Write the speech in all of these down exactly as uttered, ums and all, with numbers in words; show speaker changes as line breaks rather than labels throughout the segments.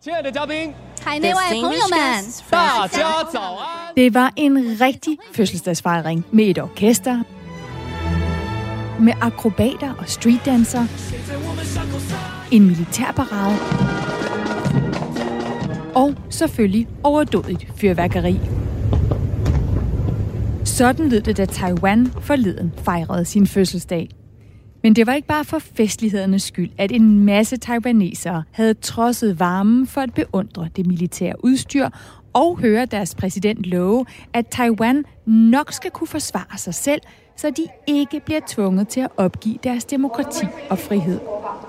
海内外朋友们，
大家早安。
Det var en rigtig fødselsdagsfejring med et orkester, med akrobater og streetdancer, en militærparade og selvfølgelig overdådigt fyrværkeri. Sådan lød det, da Taiwan forleden fejrede sin fødselsdag. Men det var ikke bare for festlighedernes skyld, at en masse taiwanesere havde trodset varmen for at beundre det militære udstyr og høre deres præsident love, at Taiwan nok skal kunne forsvare sig selv, så de ikke bliver tvunget til at opgive deres demokrati og frihed.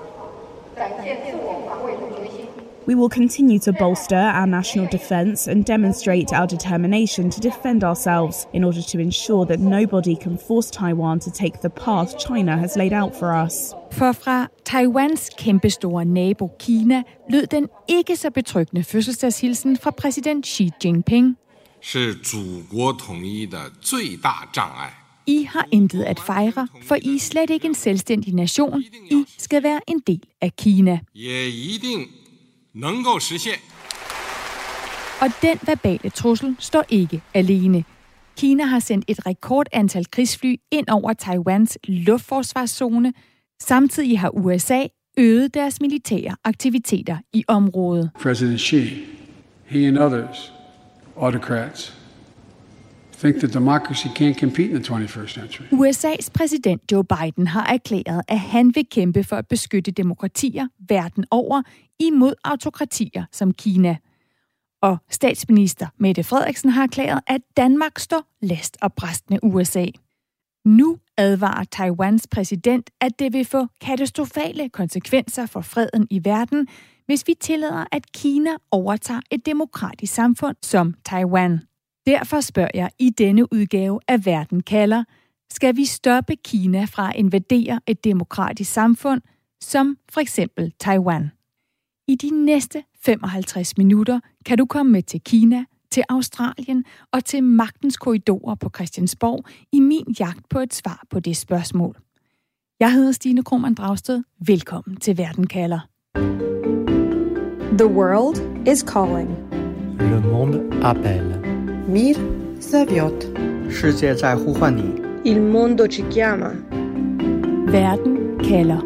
We will continue to bolster our national defence and demonstrate our determination to defend ourselves in order to ensure that nobody can force Taiwan to take the path China has laid out for us.
For fra Taiwans kæmpestore nabo Kina lød den ikke så betryggende fødselsdagshilsen fra præsident Xi Jinping.
是祖国统一的最大障碍.
I har intet at fejre, for I er slet ikke en selvstændig nation. I skal være en del af Kina.
也一定能够实现.
Og den verbale trussel står ikke alene. Kina har sendt et rekordantal krigsfly ind over Taiwans luftforsvarszone. Samtidig har U S A øget deres militære aktiviteter i området.
President Xi, he and others, autocrats, think that democracy can't compete in the twenty-first century.
U S A's præsident Joe Biden har erklæret, at han vil kæmpe for at beskytte demokratier verden over imod autokratier som Kina. Og statsminister Mette Frederiksen har erklæret, at Danmark står last og brast med U S A. Nu advarer Taiwans præsident, at det vil få katastrofale konsekvenser for freden i verden, hvis vi tillader, at Kina overtager et demokratisk samfund som Taiwan. Derfor spørger jeg i denne udgave af Verden kalder, skal vi stoppe Kina fra at invadere et demokratisk samfund, som for eksempel Taiwan? I de næste femoghalvtreds minutter kan du komme med til Kina, til Australien og til magtens korridorer på Christiansborg i min jagt på et svar på det spørgsmål. Jeg hedder Stine Krohmann Dragsted. Velkommen til Verden kalder.
The world is calling.
Le monde appelle.
Mir zовёт.
世界在呼唤你.
Il mondo ci chiama.
Verden kalder.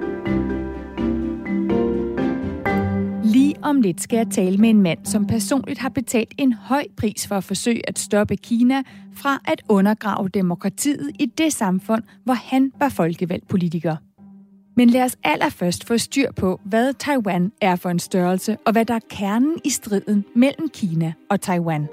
Lige om lidt skal jeg tale med en mand, som personligt har betalt en høj pris for at forsøge at stoppe Kina fra at undergrave demokratiet i det samfund, hvor han var folkevalgt politiker. Men lad os allerførst få styr på, hvad Taiwan er for en størrelse, og hvad der er kernen i striden mellem Kina og Taiwan.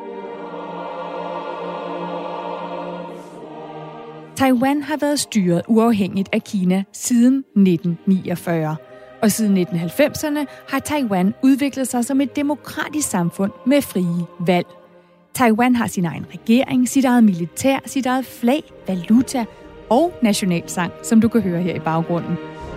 Taiwan har været styret uafhængigt af Kina siden nitten niogfyrre, og siden nitten halvfemserne har Taiwan udviklet sig som et demokratisk samfund med frie valg. Taiwan har sin egen regering, sit eget militær, sit eget flag, valuta og nationalsang, som du kan høre her i baggrunden.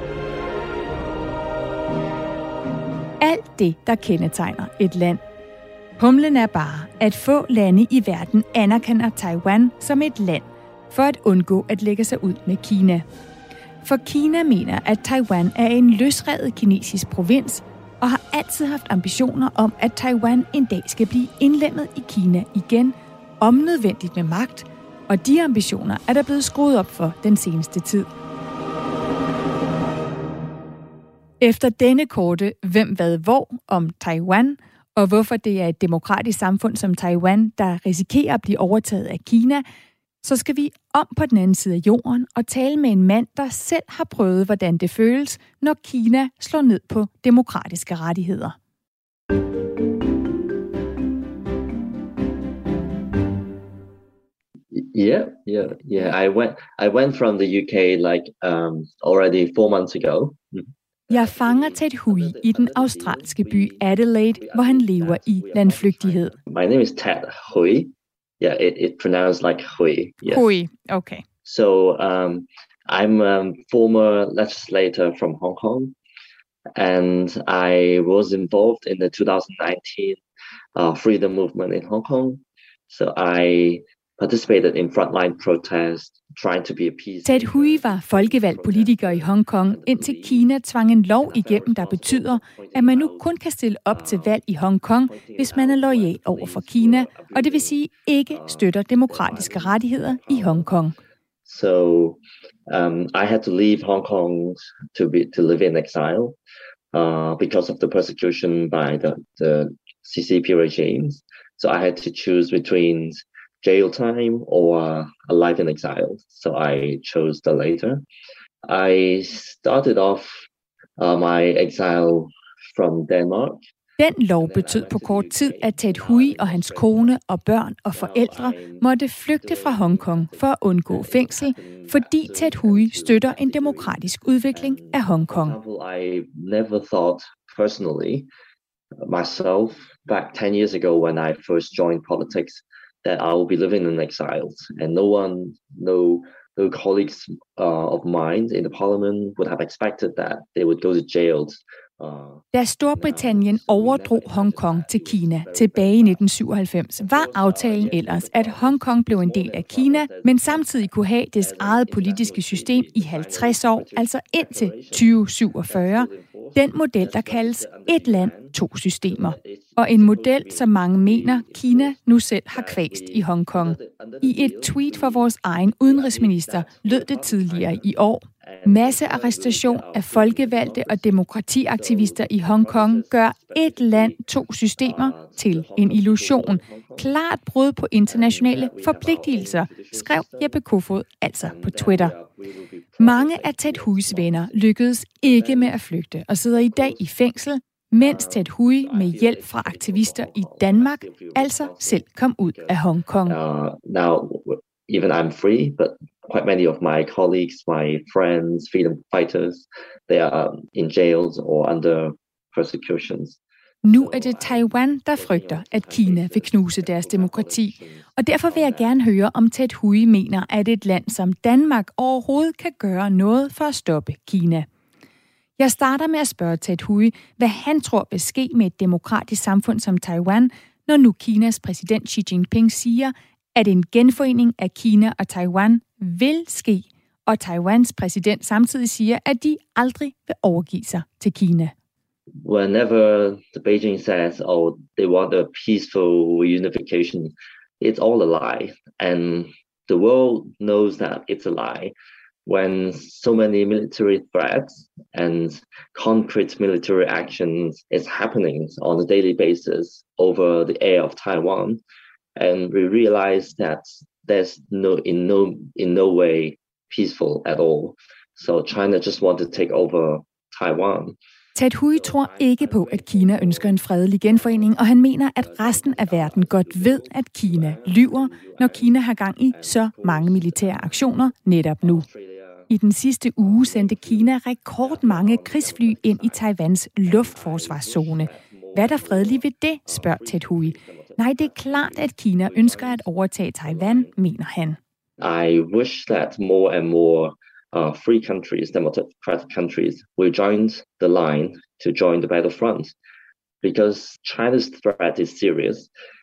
Alt det, der kendetegner et land. Humlen er bare, at få lande i verden anerkender Taiwan som et land, for at undgå at lægge sig ud med Kina. For Kina mener, at Taiwan er en løsrevet kinesisk provins, og har altid haft ambitioner om, at Taiwan en dag skal blive indlemmet i Kina igen, om nødvendigt med magt, og de ambitioner er der blevet skruet op for den seneste tid. Efter denne korte hvem hvad hvor om Taiwan, og hvorfor det er et demokratisk samfund som Taiwan, der risikerer at blive overtaget af Kina, så skal vi om på den anden side af jorden og tale med en mand, der selv har prøvet, hvordan det føles, når Kina slår ned på demokratiske rettigheder.
Yeah, yeah, yeah. I went. I went from the U K like um, already four months ago.
Jeg fanger Ted Hui i den australske by Adelaide, hvor han lever i landflygtighed.
My name is Ted Hui. Yeah, it, it pronounced like Hui. Yes.
Hui, okay.
So um, I'm a former legislator from Hong Kong, and I was involved in the two thousand nineteen uh, freedom movement in Hong Kong. So I participated in frontline protests, trying to be a peace.
Ted Hui var folkevalgt politiker i Hong Kong, indtil Kina tvang en lov igennem, der betyder, at man nu kun kan stille op til valg i Hong Kong, hvis man er loyal over for Kina, og det vil sige ikke støtter demokratiske rettigheder i Hong Kong.
So um, I had to leave Hong Kong to be to live in exile uh, because of the persecution by the, the C C P regimes. So I had to choose between jail time or a life in exile. So I chose the later. I started off uh, my exile from Denmark.
Den lov betød på kort tid, at Ted Hui og hans kone og børn og forældre måtte flygte fra Hong Kong for at undgå fængsel, fordi Ted Hui støtter en demokratisk udvikling af Hong Kong.
I never thought personally myself back ten years ago when I first joined politics that I will be living in exile, and no one, no, no colleagues uh, of mine in the parliament would have expected that they would go to jail.
Da Storbritannien overdrog Hong Kong til Kina tilbage i nitten syvoghalvfems, var aftalen ellers, at Hong Kong blev en del af Kina, men samtidig kunne have dets eget politiske system i halvtreds år, altså indtil tyve syvogfyrre. Den model, der kaldes et land, to systemer. Og en model, som mange mener, Kina nu selv har kvæst i Hong Kong. I et tweet fra vores egen udenrigsminister lød det tidligere i år: massearrestation af folkevalgte og demokratiaktivister i Hong Kong gør et land, to systemer til en illusion. Klart brud på internationale forpligtelser, skrev Jeppe Kofod altså på Twitter. Mange af Ted Huis venner lykkedes ikke med at flygte og sidder i dag i fængsel, mens Ted Hui med hjælp fra aktivister i Danmark altså selv kom ud af Hong Kong.
Uh, now, even I'm free, but quite many of my colleagues, my friends, freedom fighters, they are in jails or under persecutions.
Nu er det Taiwan, der frygter, at Kina vil knuse deres demokrati. Og derfor vil jeg gerne høre, om Ted Hui mener, at et land som Danmark overhovedet kan gøre noget for at stoppe Kina. Jeg starter med at spørge Ted Hui, hvad han tror vil ske med et demokratisk samfund som Taiwan, når nu Kinas præsident Xi Jinping siger, at en genforening af Kina og Taiwan vil ske, og Taiwans præsident samtidig siger, at de aldrig vil overgive sig til Kina.
Whenever the Beijing says, oh, they want a peaceful unification, it's all a lie. And the world knows that it's a lie. When so many military threats and concrete military actions is happening on a daily basis over the air of Taiwan, and we realize that there's no in no in no way peaceful at all. So China just want to take over Taiwan.
Ted Hui tror ikke på, at Kina ønsker en fredelig genforening, og han mener, at resten af verden godt ved, at Kina lyver, når Kina har gang i så mange militære aktioner netop nu. I den sidste uge sendte Kina rekordmange krigsfly ind i Taiwans luftforsvarszone. Hvad er der fredeligt ved det, spørger Ted Hui. Nej, det er klart, at Kina ønsker at overtage Taiwan, mener han.
I wish that more and more uh, free countries, democratic countries, will join the line to join the battlefront, because China's threat is serious.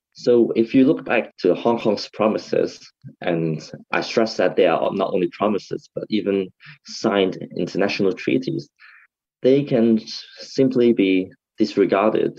So if you look back to Hong Kong's promises, and I stress that they are not only promises, but even signed international treaties, they can simply be disregarded.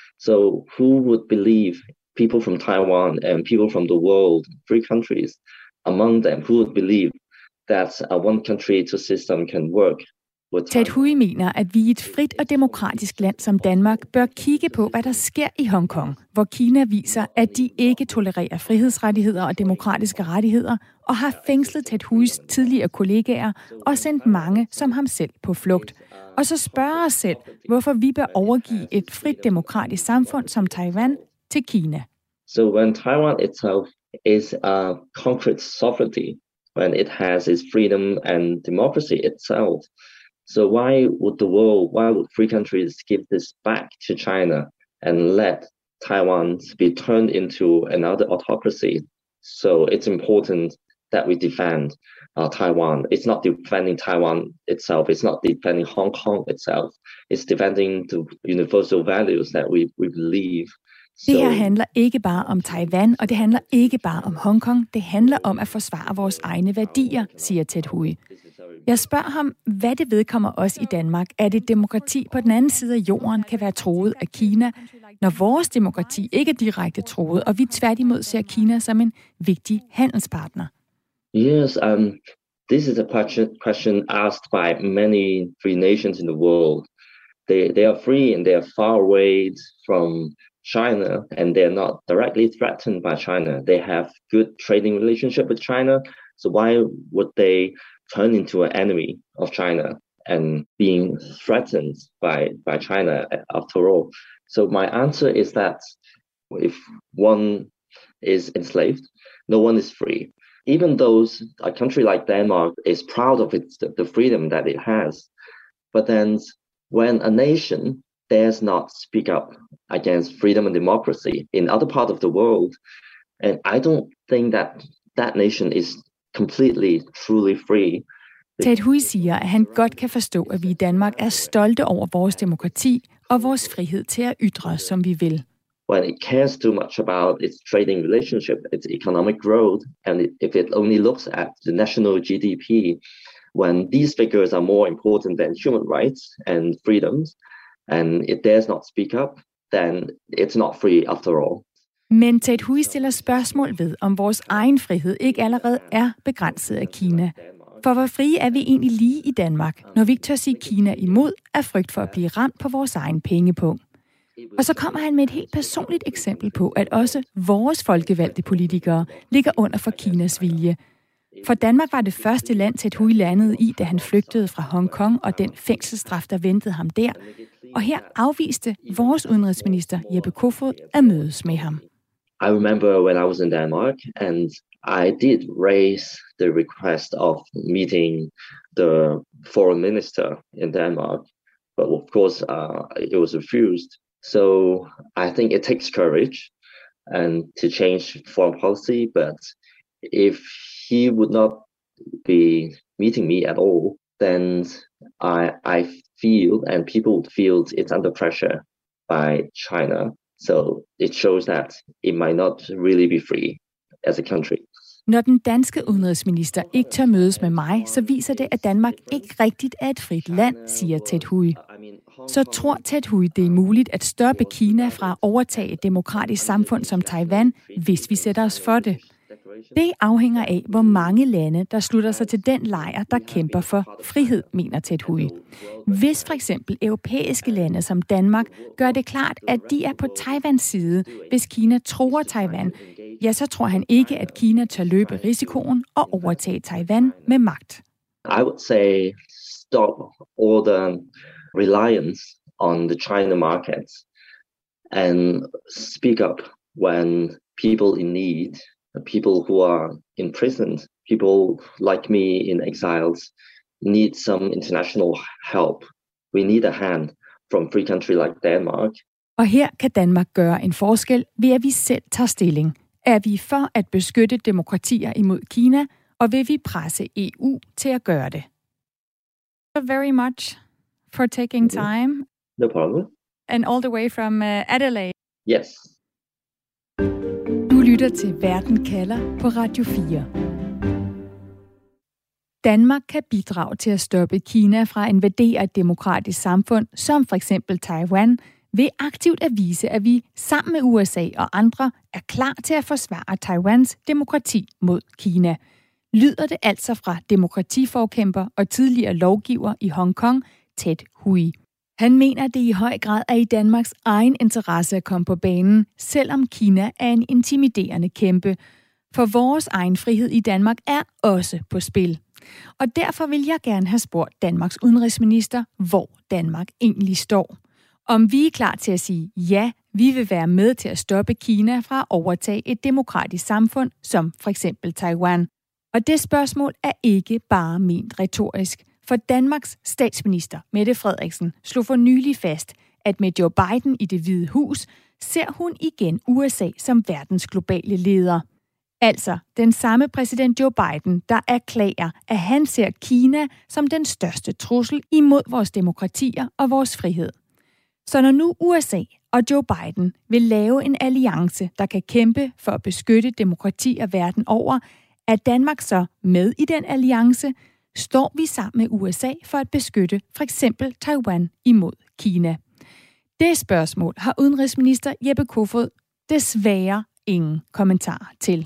So who would believe people from Taiwan and people from the world, free countries, among them, who would believe that a one country two system can work?
Ted Hui mener, at vi i et frit og demokratisk land som Danmark bør kigge på, hvad der sker i Hong Kong, hvor Kina viser, at de ikke tolererer frihedsrettigheder og demokratiske rettigheder, og har fængslet Ted Huis tidligere kollegaer og sendt mange som ham selv på flugt. Og så spørger os selv, hvorfor vi bør overgive et frit demokratisk samfund som Taiwan til Kina.
So when Taiwan itself is a concrete sovereignty, when it has its freedom and democracy itself, so why would the world, why would free countries give this back to China and let Taiwan be turned into another autocracy? So it's important that we defend uh, Taiwan. It's not defending Taiwan itself. It's not defending Hong Kong itself. It's defending the universal values that we, we believe.
Det her handler ikke bare om Taiwan, og det handler ikke bare om Hongkong. Det handler om at forsvare vores egne værdier, siger Ted Hui. Jeg spørger ham, hvad det vedkommer os i Danmark, at et demokrati på den anden side af jorden kan være truet af Kina, når vores demokrati ikke er direkte truet, og vi tværtimod ser Kina som en vigtig handelspartner.
Yes, um, this is a question asked by many free nations in the world. They, they are free and they are far away from China, and they're not directly threatened by China. They have good trading relationship with China, so why would they turn into an enemy of China and being threatened by, by China after all? So my answer is that if one is enslaved, no one is free. Even though a country like Denmark is proud of its, the freedom that it has, but then when a nation dares not speak up against freedom and democracy in other parts of the world, and I don't think that that nation is completely, truly free.
Ted Hui siger, at han godt kan forstå, at vi i Danmark er stolte over vores demokrati og vores frihed til at ytre, som vi vil.
When it cares too much about its trading relationship, its economic growth, and if it only looks at the national G D P, when these figures are more important than human rights and freedoms, and it dares not speak up, then it's not free after all.
Men Ted Hui stiller spørgsmål ved, om vores egen frihed ikke allerede er begrænset af Kina. For hvor frie er vi egentlig lige i Danmark, når vi ikke tør sige Kina imod af frygt for at blive ramt på vores egen pengepunkt? Og så kommer han med et helt personligt eksempel på, at også vores folkevalgte politikere ligger under for Kinas vilje. For Danmark var det første land, Ted Hui landede i, da han flygtede fra Hongkong og den fængselsstraf, der ventede ham der. Og her afviste vores udenrigsminister Jeppe Kofod at mødes med ham.
I remember when I was in Denmark, and I did raise the request of meeting the foreign minister in Denmark, but of course uh, it was refused. So I think it takes courage and to change foreign policy, but if he would not be meeting me at all, then I I feel and people would feel it's under pressure by China. So it shows that it might not really be free as a country.
Når den danske udenrigsminister ikke tør mødes med mig, så viser det, at Danmark ikke rigtigt er et frit land, siger Ted Hui. Så tror Ted Hui, det er muligt at stoppe Kina fra at overtage et demokratisk samfund som Taiwan, hvis vi sætter os for det. Det afhænger af, hvor mange lande, der slutter sig til den lejr, der kæmper for frihed, mener Ted Hui. Hvis for eksempel europæiske lande som Danmark gør det klart, at de er på Taiwans side, hvis Kina truer Taiwan, ja, så tror han ikke, at Kina tør løbe risikoen og overtage Taiwan med magt.
I would say stop all the reliance on the China markets and speak up when people in need, people who are imprisoned, people like me in exiles, need some international help. We need a hand from a free country like Denmark.
Og her kan Danmark gøre en forskel ved, at vi selv tager stilling. Er vi for at beskytte demokratier imod Kina, og vil vi presse E U til at gøre det? Thank you very much for taking time.
No problem.
And all the way from uh, Adelaide.
Yes.
Du lytter til Verden kalder på Radio fire. Danmark kan bidrage til at stoppe Kina fra at invadere et demokratisk samfund, som for eksempel Taiwan, ved aktivt at vise, at vi sammen med U S A og andre er klar til at forsvare Taiwans demokrati mod Kina. Lyder det altså fra demokratiforkæmper og tidligere lovgiver i Hongkong, Ted Hui. Han mener, at det i høj grad er i Danmarks egen interesse at komme på banen, selvom Kina er en intimiderende kæmpe. For vores egen frihed i Danmark er også på spil. Og derfor vil jeg gerne have spurgt Danmarks udenrigsminister, hvor Danmark egentlig står. Om vi er klar til at sige, ja, vi vil være med til at stoppe Kina fra at overtage et demokratisk samfund, som for eksempel Taiwan. Og det spørgsmål er ikke bare ment retorisk. For Danmarks statsminister, Mette Frederiksen, slog for nylig fast, at med Joe Biden i Det Hvide Hus, ser hun igen U S A som verdens globale leder. Altså den samme præsident Joe Biden, der erklærer, at han ser Kina som den største trussel imod vores demokratier og vores frihed. Så når nu U S A og Joe Biden vil lave en alliance, der kan kæmpe for at beskytte demokratier verden over. Er Danmark så med i den alliance? Står vi sammen med U S A for at beskytte for eksempel Taiwan imod Kina? Det spørgsmål har udenrigsminister Jeppe Kofod desværre ingen kommentar til.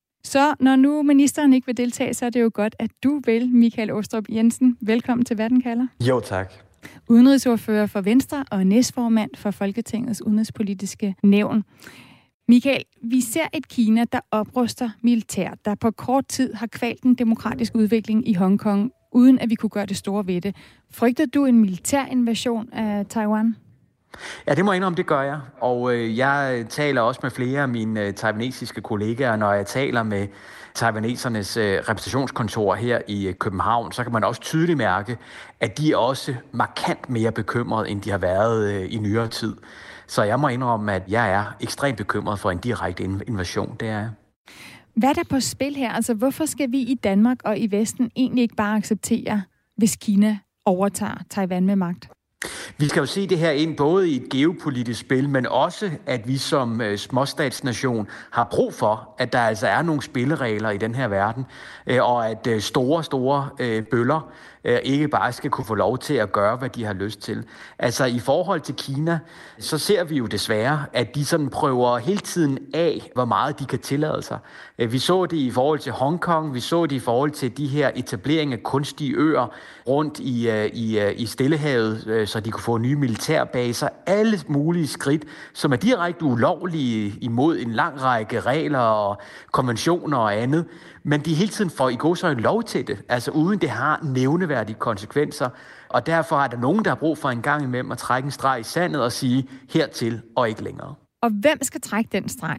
Så når nu ministeren ikke vil deltage, så er det jo godt, at du vil, Michael Aastrup Jensen. Velkommen til Verden kalder.
Jo, tak.
Udenrigsordfører for Venstre og næstformand for Folketingets udenrigspolitiske nævn. Michael, vi ser et Kina, der opruster militært, der på kort tid har kvalt den demokratiske udvikling i Hongkong, uden at vi kunne gøre det store ved det. Frygter du en militær invasion af Taiwan?
Ja, det må jeg indrømme, det gør jeg. Og øh, jeg taler også med flere af mine øh, taiwanesiske kollegaer, når jeg taler med taiwanesernes øh, repræsentationskontor her i øh, København, så kan man også tydeligt mærke, at de er også markant mere bekymrede, end de har været øh, i nyere tid. Så jeg må indrømme, at jeg er ekstremt bekymret for en direkte invasion. Det er jeg.
Hvad er der på spil her? Altså, hvorfor skal vi i Danmark og i Vesten egentlig ikke bare acceptere, hvis Kina overtager Taiwan med magt?
Vi skal jo se det her ind både i et geopolitisk spil, men også, at vi som øh, småstatsnation har brug for, at der altså er nogle spilleregler i den her verden, øh, og at øh, store, store øh, bøller øh, ikke bare skal kunne få lov til at gøre, hvad de har lyst til. Altså i forhold til Kina, så ser vi jo desværre, at de sådan prøver hele tiden af, hvor meget de kan tillade sig. Øh, vi så det i forhold til Hongkong, vi så det i forhold til de her etableringer af kunstige øer rundt i, øh, i, øh, i Stillehavet, øh, så de kunne få nye militærbaser, alle mulige skridt, som er direkte ulovlige imod en lang række regler og konventioner og andet, men de hele tiden får i god så en lov til det, altså uden det har nævneværdige konsekvenser, og derfor er der nogen, der har brug for en gang imellem at trække en streg i sandet og sige hertil og ikke længere.
Og hvem skal trække den streg?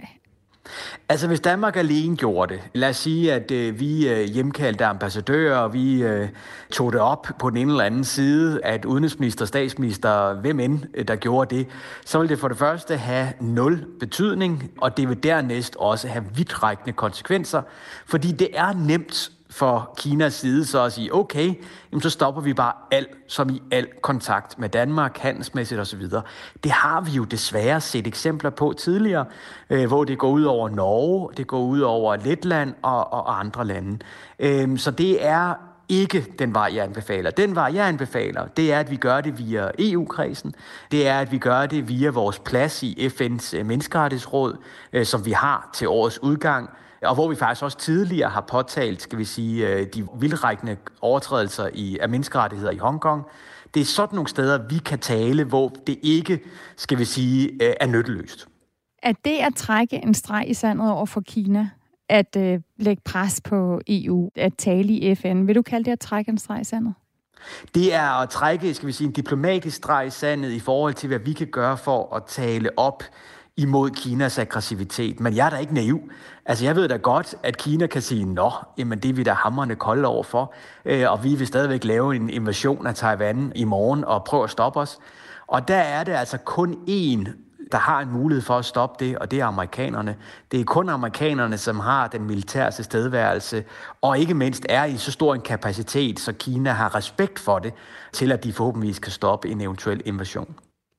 Altså hvis Danmark alene gjorde det, lad os sige, at øh, vi øh, hjemkaldte ambassadører, og vi øh, tog det op på den ene eller anden side, at udenrigsminister, statsminister, hvem end øh, der gjorde det, så vil det for det første have nul betydning, og det vil dernæst også have vidtrækkende konsekvenser, fordi det er nemt for Kinas side så at sige, okay, jamen så stopper vi bare alt, som i al kontakt med Danmark, handelsmæssigt osv. Det har vi jo desværre set eksempler på tidligere, øh, hvor det går ud over Norge, det går ud over Letland og, og andre lande. Øh, så det er ikke den vej, jeg anbefaler. Den vej, jeg anbefaler, det er, at vi gør det via E U-kredsen. Det er, at vi gør det via vores plads i F N's menneskerettighedsråd, øh, som vi har til årets udgang, og hvor vi faktisk også tidligere har påtalt, skal vi sige, de vildrækkende overtrædelser i, af menneskerettigheder i Hongkong. Det er sådan nogle steder, vi kan tale, hvor det ikke, skal vi sige, er nytteløst.
Er det at trække en streg i sandet over for Kina, at øh, lægge pres på E U, at tale i F N, vil du kalde det at trække en streg i sandet?
Det er at trække, skal vi sige, en diplomatisk streg i sandet i forhold til, hvad vi kan gøre for at tale op imod Kinas aggressivitet. Men jeg er da ikke naiv. Altså, jeg ved da godt, at Kina kan sige, nå, jamen det er vi da hamrende kolde over for, øh, og vi vil stadigvæk lave en invasion af Taiwan i morgen og prøve at stoppe os. Og der er det altså kun én, der har en mulighed for at stoppe det, og det er amerikanerne. Det er kun amerikanerne, som har den militære tilstedeværelse, og ikke mindst er i så stor en kapacitet, så Kina har respekt for det, til at de forhåbentlig kan stoppe en eventuel invasion.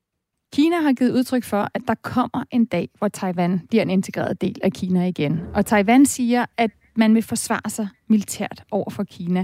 Kina har givet udtryk for, at der kommer en dag, hvor Taiwan bliver en integreret del af Kina igen. Og Taiwan siger, at man vil forsvare sig militært over for Kina.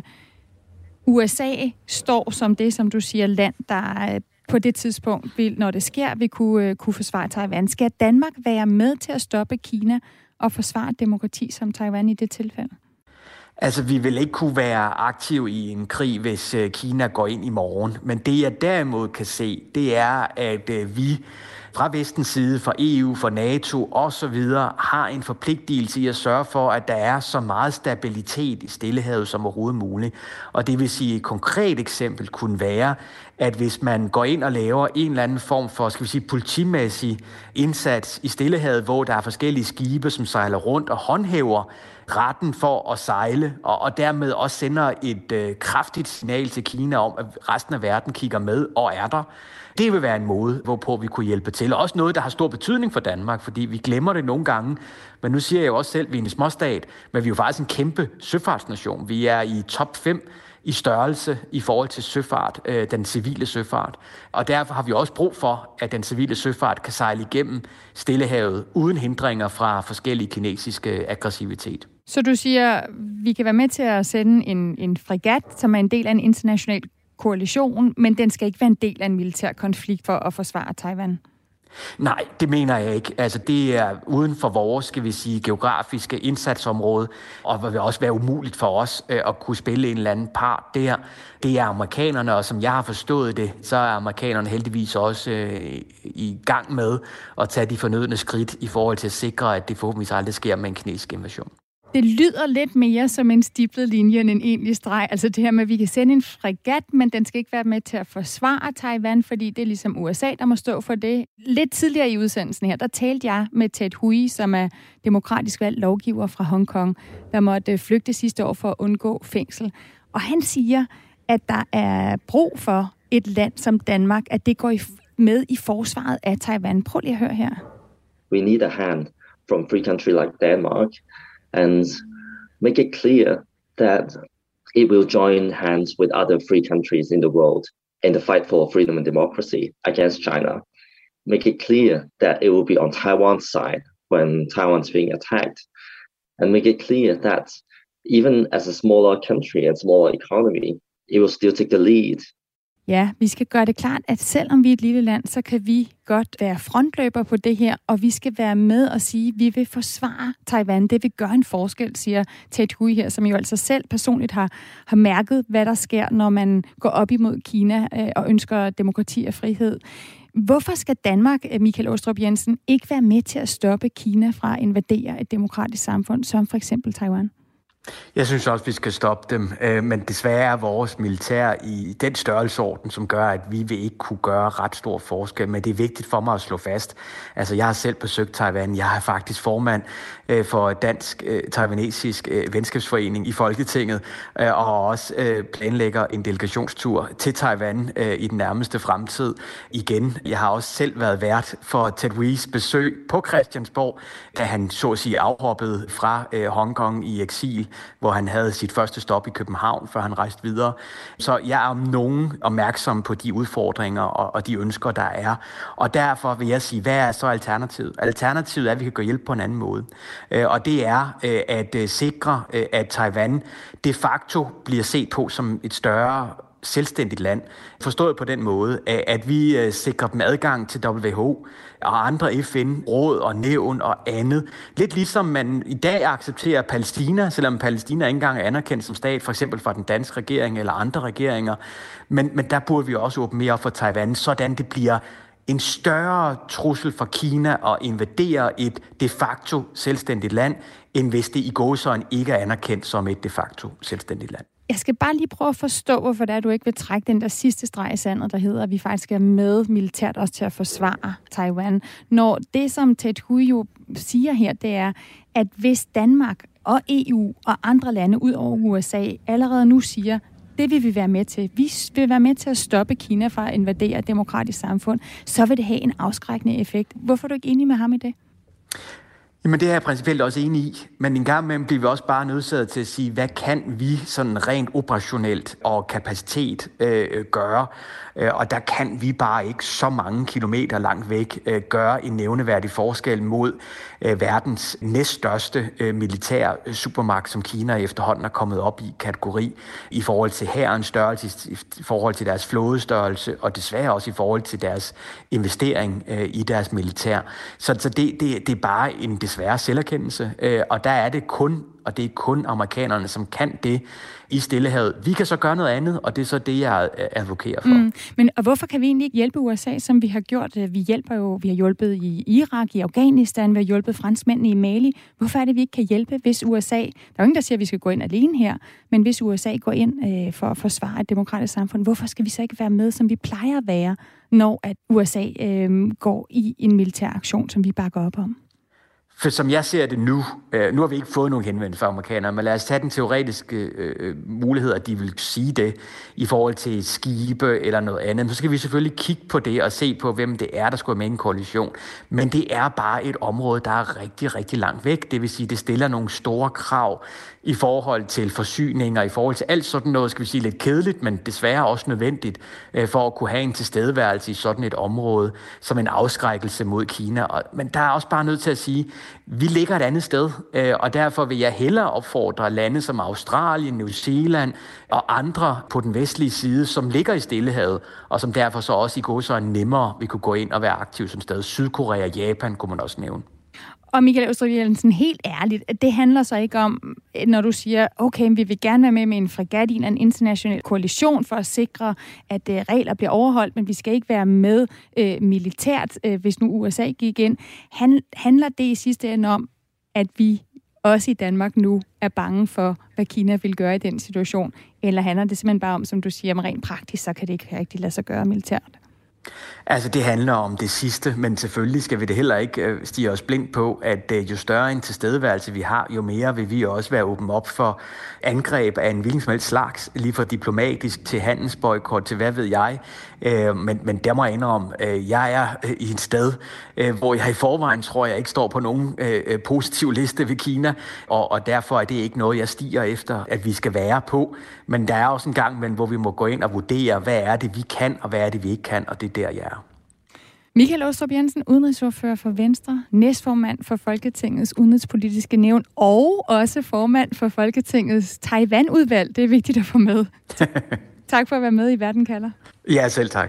U S A står som det, som du siger, land, der på det tidspunkt, vil, når det sker, vil kunne, kunne forsvare Taiwan. Skal Danmark være med til at stoppe Kina og forsvare demokrati som Taiwan i det tilfælde?
Altså, vi vil ikke kunne være aktive i en krig, hvis Kina går ind i morgen. Men det, jeg derimod kan se, det er, at vi fra vestens side, fra E U, fra NATO osv. har en forpligtelse i at sørge for, at der er så meget stabilitet i Stillehavet som overhovedet muligt. Og det vil sige, et konkret eksempel kunne være, at hvis man går ind og laver en eller anden form for, skal vi sige, politimæssig indsats i Stillehavet, hvor der er forskellige skibe, som sejler rundt og håndhæver retten for at sejle, og, og dermed også sender et øh, kraftigt signal til Kina om, at resten af verden kigger med og er der. Det vil være en måde, hvorpå vi kunne hjælpe til. Og også noget, der har stor betydning for Danmark, fordi vi glemmer det nogle gange. Men nu siger jeg jo også selv, at vi er en småstat, men vi er jo faktisk en kæmpe søfartsnation. Vi er i top fem i størrelse i forhold til søfart, øh, den civile søfart. Og derfor har vi også brug for, at den civile søfart kan sejle igennem Stillehavet uden hindringer fra forskellige kinesiske aggressivitet.
Så du siger, vi kan være med til at sende en, en fregat, som er en del af en international koalition, men den skal ikke være en del af en militær konflikt for at forsvare Taiwan?
Nej, det mener jeg ikke. Altså, det er uden for vores, skal vi sige, geografiske indsatsområde, og det vil også være umuligt for os øh, at kunne spille en eller anden part der. Det er amerikanerne, og som jeg har forstået det, så er amerikanerne heldigvis også øh, i gang med at tage de fornødne skridt i forhold til at sikre, at det forhåbentlig aldrig sker med en kinesisk invasion.
Det lyder lidt mere som en stiplet linje end en egentlig streg. Altså det her med, at vi kan sende en fregat, men den skal ikke være med til at forsvare Taiwan, fordi det er ligesom U S A, der må stå for det. Lidt tidligere i udsendelsen her, der talte jeg med Ted Hui, som er demokratisk valgt lovgiver fra Hongkong, der måtte flygte sidste år for at undgå fængsel. Og han siger, at der er brug for et land som Danmark, at det går med i forsvaret af Taiwan. Prøv lige at høre her.
We need a hand from a free country like Denmark, and make it clear that it will join hands with other free countries in the world in the fight for freedom and democracy against China. Make it clear that it will be on Taiwan's side when Taiwan's being attacked. And make it clear that even as a smaller country and smaller economy, it will still take the lead.
Ja, vi skal gøre det klart, at selvom vi er et lille land, så kan vi godt være frontløber på det her, og vi skal være med og sige, at vi vil forsvare Taiwan. Det vil gøre en forskel, siger Ted Hui her, som jo altså selv personligt har, har mærket, hvad der sker, når man går op imod Kina øh, og ønsker demokrati og frihed. Hvorfor skal Danmark, Michael Aastrup Jensen, ikke være med til at stoppe Kina fra at invadere et demokratisk samfund, som for eksempel Taiwan?
Jeg synes også, vi skal stoppe dem, men desværre er vores militær i den størrelsesorden, som gør, at vi vil ikke kunne gøre ret stor forskel, men det er vigtigt for mig at slå fast. Altså, jeg har selv besøgt Taiwan. Jeg er faktisk formand for Dansk Taiwanesisk Venskabsforening i Folketinget, og også planlægger en delegationstur til Taiwan i den nærmeste fremtid igen. Jeg har også selv været vært for Ted Huis besøg på Christiansborg, da han så at sige afhoppede fra Hongkong i eksil, hvor han havde sit første stop i København, før han rejste videre. Så jeg er om nogen opmærksom på de udfordringer og, og de ønsker, der er. Og derfor vil jeg sige, hvad er så alternativet? Alternativet er, at vi kan gå hjælp på en anden måde. Og det er at sikre, at Taiwan de facto bliver set på som et større selvstændigt land. Forstået på den måde, at vi sikrer dem adgang til W H O og andre F N-råd og nævn og andet. Lidt ligesom man i dag accepterer Palæstina, selvom Palæstina ikke engang er anerkendt som stat, for eksempel fra den danske regering eller andre regeringer. Men, men der burde vi også åbne mere op for Taiwan, sådan det bliver en større trussel for Kina at invadere et de facto selvstændigt land, end hvis det i gåseøjne ikke er anerkendt som et de facto selvstændigt land.
Jeg skal bare lige prøve at forstå, hvorfor det er, du ikke vil trække den der sidste streg i sandet, der hedder, at vi faktisk er med militært også til at forsvare Taiwan. Når det, som Ted Hui jo siger her, det er, at hvis Danmark og E U og andre lande ud over U S A allerede nu siger, det vil vi være med til. Vi vil være med til at stoppe Kina fra at invadere et demokratisk samfund, så vil det have en afskrækkende effekt. Hvorfor er du ikke enig med ham i det?
Jamen det er jeg principielt også enig i, men en gang imellem bliver vi også bare nødsaget til at sige, hvad kan vi sådan rent operationelt og kapacitet øh, gøre? Øh, og der kan vi bare ikke så mange kilometer langt væk øh, gøre en nævneværdig forskel mod øh, verdens næststørste øh, militære supermagt, som Kina efterhånden er kommet op i kategori i forhold til hærens størrelse, i forhold til deres flådestørrelse og desværre også i forhold til deres investering øh, i deres militær. Så, så det, det, det er bare en desværre selverkendelse, øh, og der er det kun, og det er kun amerikanerne, som kan det i Stillehavet. Vi kan så gøre noget andet, og det er så det, jeg advokerer for. Mm,
men og hvorfor kan vi egentlig ikke hjælpe U S A, som vi har gjort? Vi hjælper jo, vi har hjulpet i Irak, i Afghanistan, vi har hjulpet franskmændene i Mali. Hvorfor er det, vi ikke kan hjælpe, hvis U S A... Der er jo ingen, der siger, at vi skal gå ind alene her, men hvis U S A går ind øh, for at forsvare et demokratisk samfund, hvorfor skal vi så ikke være med, som vi plejer at være, når at U S A øh, går i en militær aktion, som vi bakker op om?
For som jeg ser det nu, øh, nu har vi ikke fået nogen henvendelse fra amerikanere, men lad os tage den teoretiske øh, mulighed, at de vil sige det i forhold til skibe eller noget andet. Så skal vi selvfølgelig kigge på det og se på, hvem det er, der skulle med i en koalition. Men det er bare et område, der er rigtig, rigtig langt væk. Det vil sige, det stiller nogle store krav i forhold til forsyninger, i forhold til alt sådan noget, skal vi sige, lidt kedeligt, men desværre også nødvendigt øh, for at kunne have en tilstedeværelse i sådan et område, som en afskrækkelse mod Kina. Og, men der er også bare nødt til at sige, vi ligger et andet sted, øh, og derfor vil jeg hellere opfordre lande som Australien, New Zealand og andre på den vestlige side, som ligger i Stillehavet, og som derfor så også i går så nemmere vi kunne gå ind og være aktive som sted. Sydkorea og Japan kunne man også nævne.
Og Michael Aastrup Jensen, helt ærligt, det handler så ikke om, når du siger, okay, vi vil gerne være med med en fregat i en international koalition for at sikre, at uh, regler bliver overholdt, men vi skal ikke være med uh, militært, uh, hvis nu U S A gik ind. Han, handler det i sidste ende om, at vi også i Danmark nu er bange for, hvad Kina vil gøre i den situation? Eller handler det simpelthen bare om, som du siger, om rent praktisk, så kan det ikke rigtig lade sig gøre militært?
Altså, det handler om det sidste, men selvfølgelig skal vi det heller ikke øh, stige os blind på, at øh, jo større en tilstedeværelse vi har, jo mere vil vi også være åben op for angreb af en hvilken som helst slags, lige fra diplomatisk til handelsboykot til hvad ved jeg. Øh, men, men der må jeg indrømme, øh, jeg er øh, i et sted, øh, hvor jeg i forvejen tror, jeg ikke står på nogen øh, positiv liste ved Kina, og, og derfor er det ikke noget, jeg stiger efter, at vi skal være på. Men der er også en gang, men, hvor vi må gå ind og vurdere, hvad er det, vi kan, og hvad er det, vi ikke kan, og det er der, jeg er.
Michael Aastrup Jensen, udenrigsordfører for Venstre, næstformand for Folketingets udenrigspolitiske nævn og også formand for Folketingets Taiwan-udvalg. Det er vigtigt at få med. Tak for at være med i Verden kalder.
Ja, selv tak.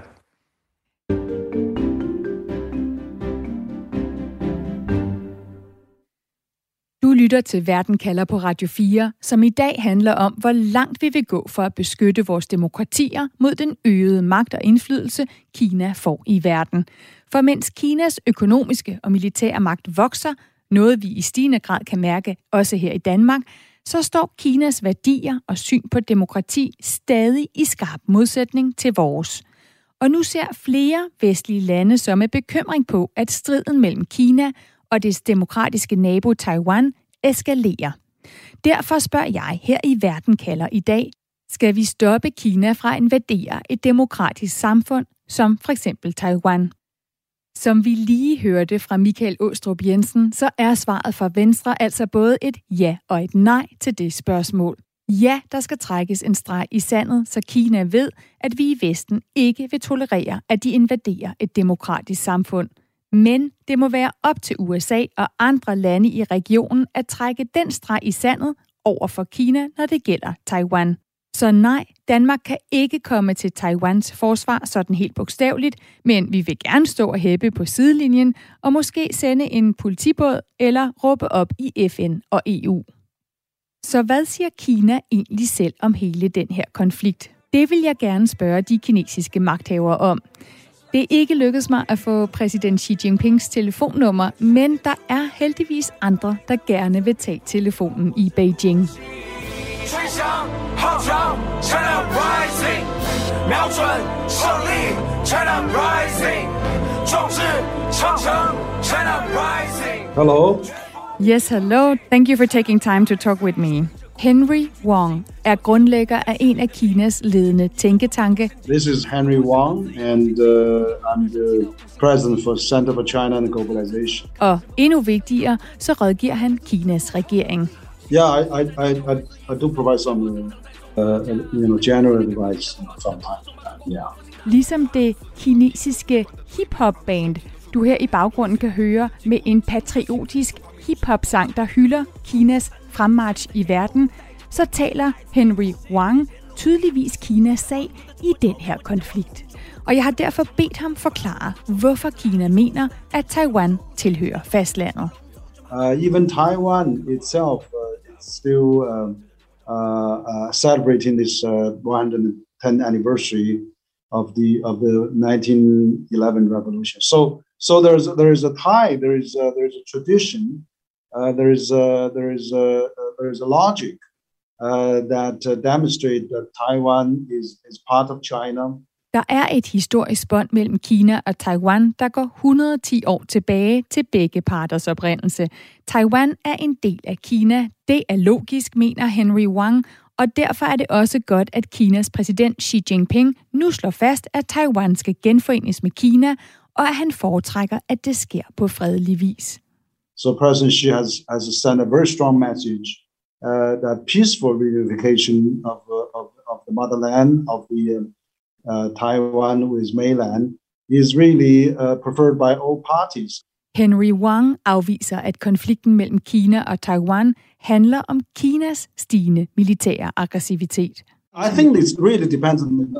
Du lytter til Verden kalder på Radio fire, som i dag handler om, hvor langt vi vil gå for at beskytte vores demokratier mod den øgede magt og indflydelse, Kina får i verden. For mens Kinas økonomiske og militære magt vokser, noget vi i stigende grad kan mærke også her i Danmark, så står Kinas værdier og syn på demokrati stadig i skarp modsætning til vores. Og nu ser flere vestlige lande så med bekymring på, at striden mellem Kina og dets demokratiske nabo Taiwan eskalerer. Derfor spørger jeg her i Verden kalder i dag, skal vi stoppe Kina fra at invadere et demokratisk samfund, som for eksempel Taiwan? Som vi lige hørte fra Michael Aastrup Jensen, så er svaret fra Venstre altså både et ja og et nej til det spørgsmål. Ja, der skal trækkes en streg i sandet, så Kina ved, at vi i Vesten ikke vil tolerere, at de invaderer et demokratisk samfund. Men det må være op til U S A og andre lande i regionen at trække den streg i sandet over for Kina, når det gælder Taiwan. Så nej, Danmark kan ikke komme til Taiwans forsvar sådan helt bogstaveligt, men vi vil gerne stå og hæppe på sidelinjen og måske sende en politibåd eller råbe op i F N og E U. Så hvad siger Kina egentlig selv om hele den her konflikt? Det vil jeg gerne spørge de kinesiske magthavere om. Det er ikke lykkedes mig at få præsident Xi Jinpings telefonnummer, men der er heldigvis andre, der gerne vil tage telefonen i Beijing.
Hello.
Yes, hello. Thank you for taking time to talk with me. Henry Wang er grundlægger af en af Kinas ledende tænketanke.
This is Henry Wang, and uh, I'm the president for Center for China and Globalization.
Og endnu vigtigere, så rådgiver han Kinas regering.
Yeah, I I I I, I do provide some uh, you know general advice from time to time. Yeah.
Ligesom det kinesiske hip-hop band, du her i baggrunden kan høre med en patriotisk hip-hop-sang, der hylder Kinas fremmarch i verden, så taler Henry Wang tydeligvis Kinas sag i den her konflikt. Og jeg har derfor bedt ham forklare, hvorfor Kina mener, at Taiwan tilhører fastlandet.
Uh, even Taiwan itself uh, is still uh, uh, uh, celebrating this uh, one hundred tenth anniversary of the of the nineteen eleven revolution. So so there's there is a tie, there is a, there is a tradition. Uh, there is a, there is a, there is a logic uh, that uh, demonstrates that Taiwan is, is part of China,
Der er et historisk bånd mellem Kina og Taiwan, der går et hundrede og ti år tilbage til begge parters oprindelse. Taiwan er en del af Kina. Det er logisk, mener Henry Wang, og derfor er det også godt, at Kinas præsident Xi Jinping nu slår fast, at Taiwan skal genforenes med Kina, og at han foretrækker, at det sker på fredelig vis.
So President Xi has, has sent a very strong message uh, that peaceful reunification of, uh, of, of the motherland, of the uh, uh, Taiwan with mainland, is really uh, preferred by all parties.
Henry Wang afviser, at konflikten mellem Kina og Taiwan handler om Kinas stigende militære aggressivitet.
I think it really depends on the,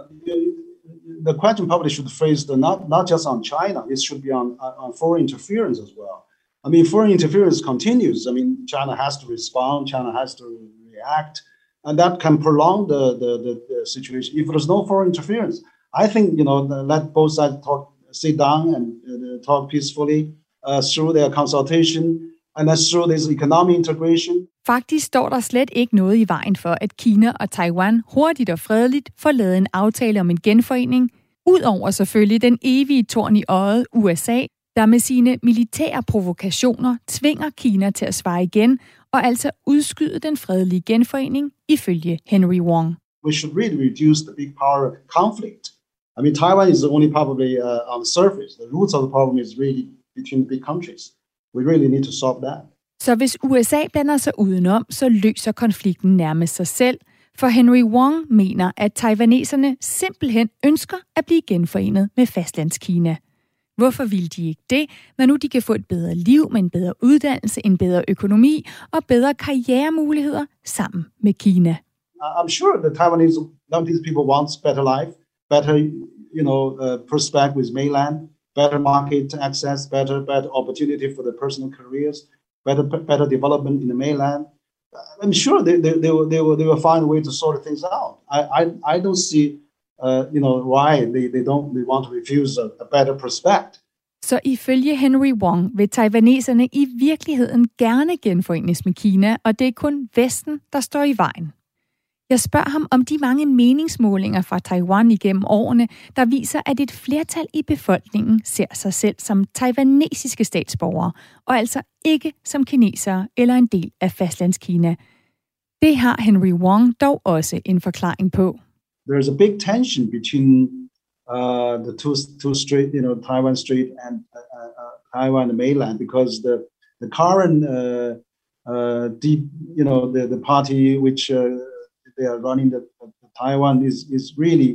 the question probably should phrase the not, not just on China, it should be on, on foreign interference as well. I mean, foreign interference continues. I mean, China has to respond, China has to react, and that can prolong the, the, the, the situation. If there's no foreign interference, I think, you know, let both sides talk, sit down and uh, talk peacefully uh, through their consultation and then through this economic integration.
Faktisk står der slet ikke noget i vejen for, at Kina og Taiwan hurtigt og fredeligt får lavet en aftale om en genforening, udover selvfølgelig den evige torn i øjet U S A, der med sine militære provokationer tvinger Kina til at svare igen og altså udskyde den fredelige genforening, ifølge Henry Wang.
We should really reduce the big power conflict. I mean, Taiwan is only probably uh, on the surface. The roots of the problem is really between big countries. We really need to solve that.
Så hvis U S A blander sig udenom, så løser konflikten nærmest sig selv, for Henry Wang mener, at taiwaneserne simpelthen ønsker at blive genforenet med fastlandskina. Hvorfor vil de ikke det, når nu de kan få et bedre liv med en bedre uddannelse, en bedre økonomi og bedre karrieremuligheder sammen med Kina?
I'm sure the Taiwanese, Taiwanese people want better life, better, you know, uh, prospect with mainland, better market access, better, better opportunity for their personal careers, better, better development in the mainland. I'm sure they, they, they, will, they, will, they will find a way to sort things out. I, I, I don't see Uh, you know, why they, they don't they want to refuse a, a better prospect.
Så ifølge Henry Wang vil taiwaneserne i virkeligheden gerne genforenes med Kina, og det er kun Vesten, der står i vejen. Jeg spørger ham om de mange meningsmålinger fra Taiwan igennem årene, der viser, at et flertal i befolkningen ser sig selv som taiwanesiske statsborgere, og altså ikke som kinesere eller en del af fastlandskina. Det har Henry Wang dog også en forklaring på.
There's a big tension between uh, the two two strait, you know, Taiwan Strait and uh, uh, Taiwan and mainland, because the the current, uh, uh, deep, you know, the the party which uh, they are running the, the Taiwan is is really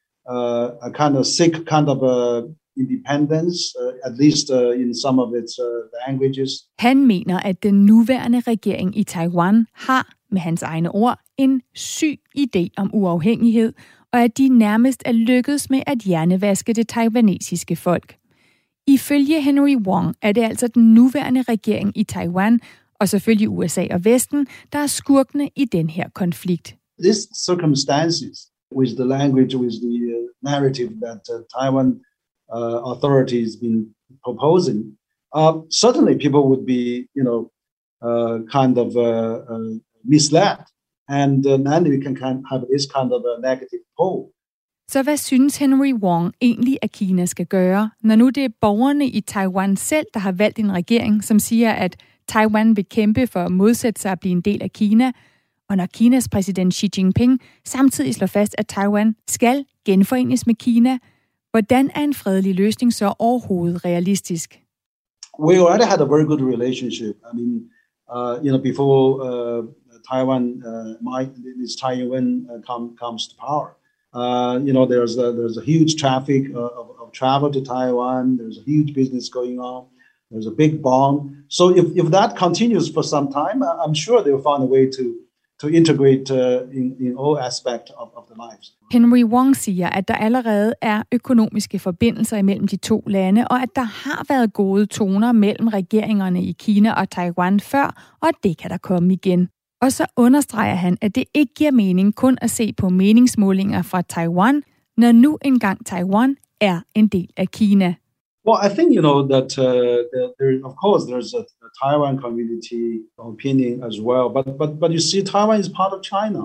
uh, a kind of sick kind of uh, independence, uh, at least uh, in some of its uh, languages.
Han mener, at den nuværende regering i Taiwan har, med hans egne ord, en syg idé om uafhængighed, og at de nærmest er lykkedes med at hjernevaske det taiwanesiske folk. Ifølge Henry Wang er det altså den nuværende regering i Taiwan, og selvfølgelig U S A og Vesten, der er skurkene i den her konflikt.
These circumstances, with the language, with the uh, narrative that uh, Taiwan uh, authorities been proposing, uh, certainly people would be, you know, uh, kind of uh, uh, misled. And uh, then we can kind of have this kind of a negative pole.
Så hvad synes Henry Wang egentlig, at Kina skal gøre, når nu det er borgerne i Taiwan selv, der har valgt en regering, som siger, at Taiwan vil kæmpe for at modsætte sig at blive en del af Kina, og når Kinas præsident Xi Jinping samtidig slår fast, at Taiwan skal genforenes med Kina, hvordan er en fredelig løsning så overhovedet realistisk?
We already had a very good relationship. I mean, uh, you know, before uh, Taiwan, uh, might, this Taiwan uh, come, comes to power. Uh, you know, there's a, there's a huge traffic uh, of, of travel to Taiwan. There's a huge business going on. There's a big bond. So if, if that continues for some time, I'm sure they'll find a way to to integrate uh, in, in all aspects of, of the lives.
Henry Wang siger, at der allerede er økonomiske forbindelser imellem de to lande, og at der har været gode toner mellem regeringerne i Kina og Taiwan før, og det kan der komme igen. Og så understreger han, at det ikke giver mening kun at se på meningsmålinger fra Taiwan, når nu engang Taiwan er en del af Kina.
Well, I think, you know, that uh, there, of course, there's a, a Taiwan community opinion as well. But, but, but you see, Taiwan is part of China.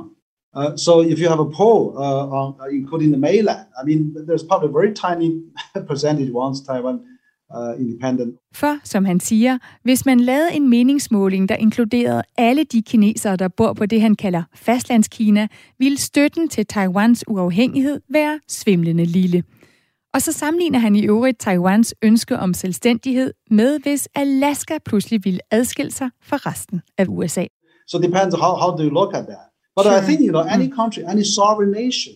Uh, so if you have a poll, uh, on, uh, including the mainland, I mean, there's probably a very tiny percentage wants Taiwan uh, independent.
For, som han siger, hvis man lavede en meningsmåling, der inkluderede alle de kinesere, der bor på det, han kalder fastlandskina, ville støtten til Taiwans uafhængighed være svimlende lille. Og så sammenligner han i øvrigt Taiwans ønske om selvstændighed med, hvis Alaska pludselig ville adskille sig fra resten af U S A.
So it depends how, how do you look at that. But sure. I think, you know, any country, any sovereign nation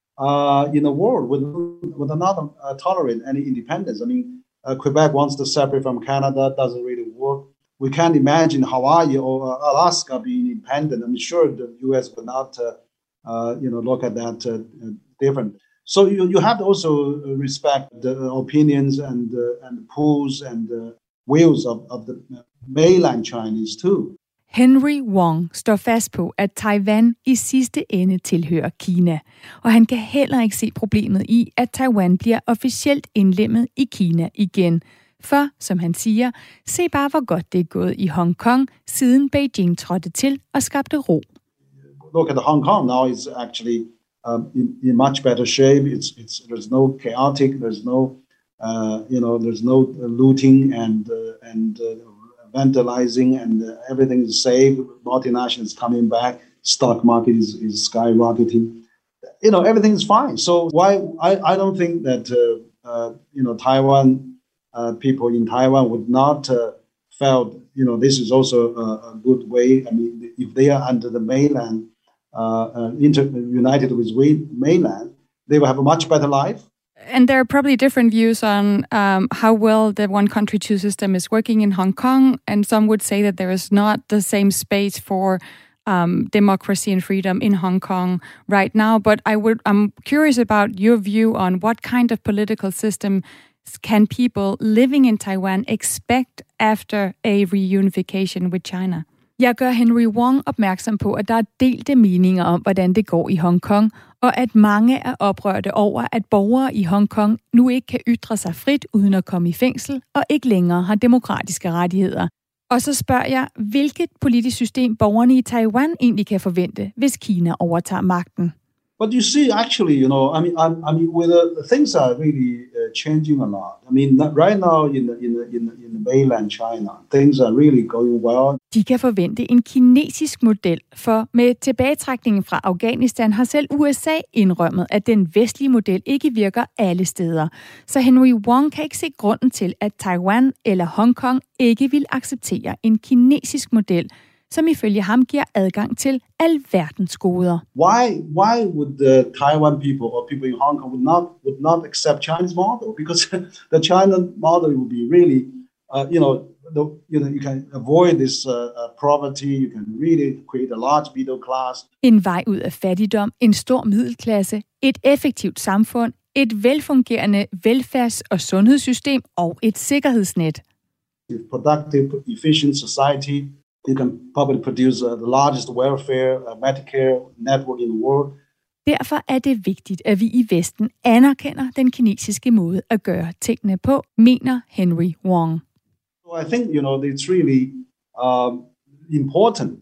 uh, in the world would, would not uh, tolerate any independence. I mean, uh, Quebec wants to separate from Canada, doesn't really work. We can't imagine Hawaii or uh, Alaska being independent. I'm sure the U S would not, uh, uh, you know, look at that uh, different. So you, you have to also respect the opinions and uh, and pools and uh, views of, of the mainland Chinese too.
Henry Wong står fast på, at Taiwan i sidste ende tilhører Kina, og han kan heller ikke se problemet i, at Taiwan bliver officielt indlemmet i Kina igen. For, som han siger, se bare hvor godt det er gået i Hong Kong, siden Beijing trådte til og skabte ro.
Look at Hong Kong now, it's actually um, in, in much better shape. It's it's there's no chaotic, there's no uh, you know there's no looting and uh, and uh, vandalizing, and uh, everything is safe. Multinationals coming back, stock market is, is skyrocketing. You know, everything is fine. So why I, I don't think that uh, uh, you know Taiwan uh, people in Taiwan would not uh, felt you know this is also a, a good way. I mean, if they are under the mainland, uh, uh, inter- united with mainland, they will have a much better life.
And there are probably different views on um, how well the one country, two system is working in Hong Kong. And some would say that there is not the same space for um, democracy and freedom in Hong Kong right now. But I would, I'm curious about your view on what kind of political system can people living in Taiwan expect after a reunification with China? Jeg gør Henry Wong opmærksom på, at der er delte meninger om, hvordan det går i Hong Kong, og at mange er oprørte over, at borgere i Hong Kong nu ikke kan ytre sig frit uden at komme i fængsel, og ikke længere har demokratiske rettigheder. Og så spørger jeg, hvilket politisk system borgerne i Taiwan egentlig kan forvente, hvis Kina overtager magten.
But you see, actually, you know, I mean, I, I mean, with uh, things are really uh, changing a lot. I mean, right now in the, in the, in the, in the mainland China, things are really going well.
De kan forvente en kinesisk model, for med tilbagetrækningen fra Afghanistan har selv U S A indrømmet, at den vestlige model ikke virker alle steder. Så Henry Wong kan ikke se grunden til, at Taiwan eller Hong Kong ikke vil acceptere en kinesisk model, som ifølge ham giver adgang til alverdens goder.
Why why would the Taiwan people or people in Hong Kong would not would not accept Chinese model? Because the China model would be really, uh, you know, the, you know, you can avoid this uh, uh, poverty. You can really create a large middle class.
En vej ud af fattigdom, en stor middelklasse, et effektivt samfund, et velfungerende velfærds- og sundhedssystem og et sikkerhedsnet.
A productive, efficient society. You can probably produce uh, the largest welfare, uh, Medicare network in the world.
Derfor er det vigtigt, at vi i Vesten anerkender den kinesiske måde at gøre tingene på, mener Henry Wong.
So I think, you know, it's really um, important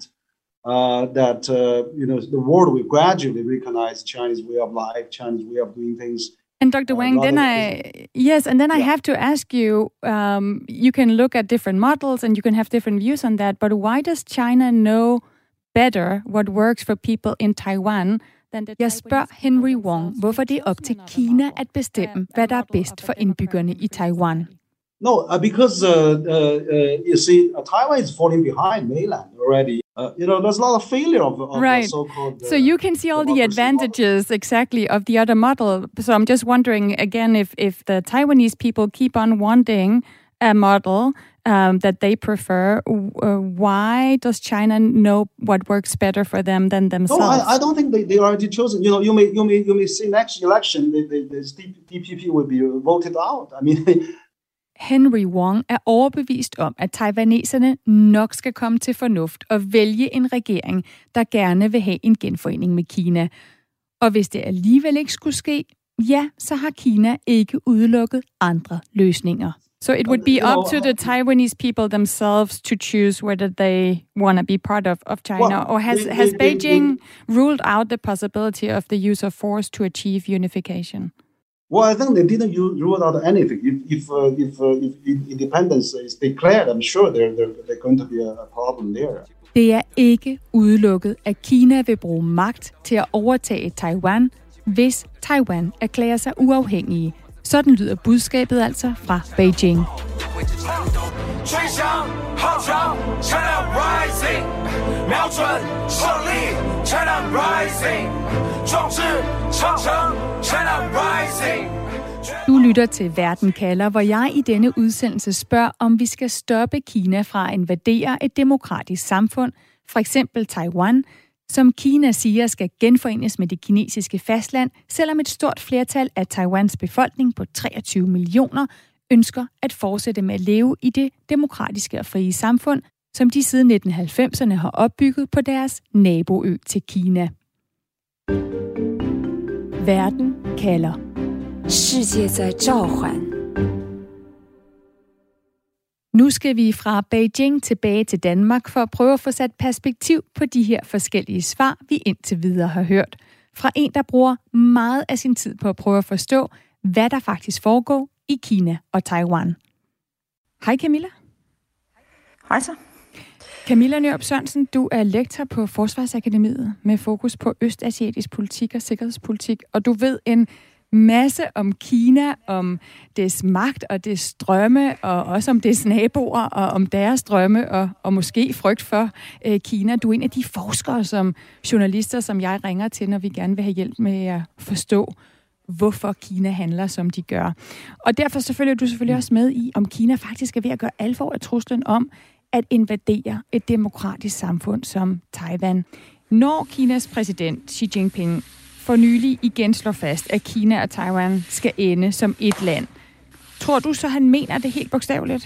uh, that, uh, you know, the world will gradually recognize Chinese way of life, Chinese way of doing things.
And Doctor Wang, uh, then I, yes, and then yeah. I have to ask you, um, you can look at different models and you can have different views on that, but why does China know better what works for people in Taiwan than the Jeg spørger Henry Wong, hvorfor det er op til Kina at bestemme, hvad der er bedst for indbyggerne i Taiwan.
No, uh, because, uh, uh, uh, you see, uh, Taiwan is falling behind mainland already. Uh, you know, there's a lot of failure of, of
right.
the so-called... Uh,
so you can see all the advantages, model. Exactly, of the other model. So I'm just wondering, again, if, if the Taiwanese people keep on wanting a model um, that they prefer, uh, why does China know what works better for them than themselves?
No, I, I don't think they, they already chosen. You know, you may you may you may see next election, the, the, the D P P will be voted out. I mean...
Henry Wong er overbevist om, at taiwaneserne nok skal komme til fornuft og vælge en regering, der gerne vil have en genforening med Kina. Og hvis det alligevel ikke skulle ske, ja, så har Kina ikke udelukket andre løsninger. So it would be up to the Taiwanese people themselves to choose whether they want to be part of, of China,
well,
or has,
they,
has
they,
Beijing
they,
ruled out the possibility of the use of force to achieve unification?
Well, I think they didn't rule out anything. If if uh, if, uh, if independence is declared, I'm sure there there there's going to be a problem there.
Det er ikke udelukket, at Kina vil bruge magt til at overtage Taiwan, hvis Taiwan erklærer sig uafhængige. Sådan lyder budskabet altså fra Beijing. Du lytter til Verden kalder, hvor jeg i denne udsendelse spørger, om vi skal stoppe Kina fra at invadere et demokratisk samfund, for eksempel Taiwan, som Kina siger skal genforenes med det kinesiske fastland, selvom et stort flertal af Taiwans befolkning på treogtyve millioner ønsker at fortsætte med at leve i det demokratiske og frie samfund, som de siden nitten halvfemserne har opbygget på deres naboø til Kina. Verden kalder. Nu skal vi fra Beijing tilbage til Danmark for at prøve at få sat perspektiv på de her forskellige svar, vi indtil videre har hørt. Fra en, der bruger meget af sin tid på at prøve at forstå, hvad der faktisk foregår i Kina og Taiwan. Hej Camilla.
Hej så.
Camilla Nørup Sørensen, du er lektor på Forsvarsakademiet med fokus på østasiatisk politik og sikkerhedspolitik, og du ved en masse om Kina, om dets magt og dets drømme, og også om dets naboer, og om deres drømme, og, og måske frygt for øh, Kina. Du er en af de forskere, som journalister, som jeg ringer til, når vi gerne vil have hjælp med at forstå, hvorfor Kina handler, som de gør. Og derfor selvfølgelig er du selvfølgelig også med i, om Kina faktisk er ved at gøre alvor af truslen om at invadere et demokratisk samfund som Taiwan. Når Kinas præsident Xi Jinping for nylig igen slår fast, at Kina og Taiwan skal ende som et land. Tror du så, han mener det helt bogstaveligt?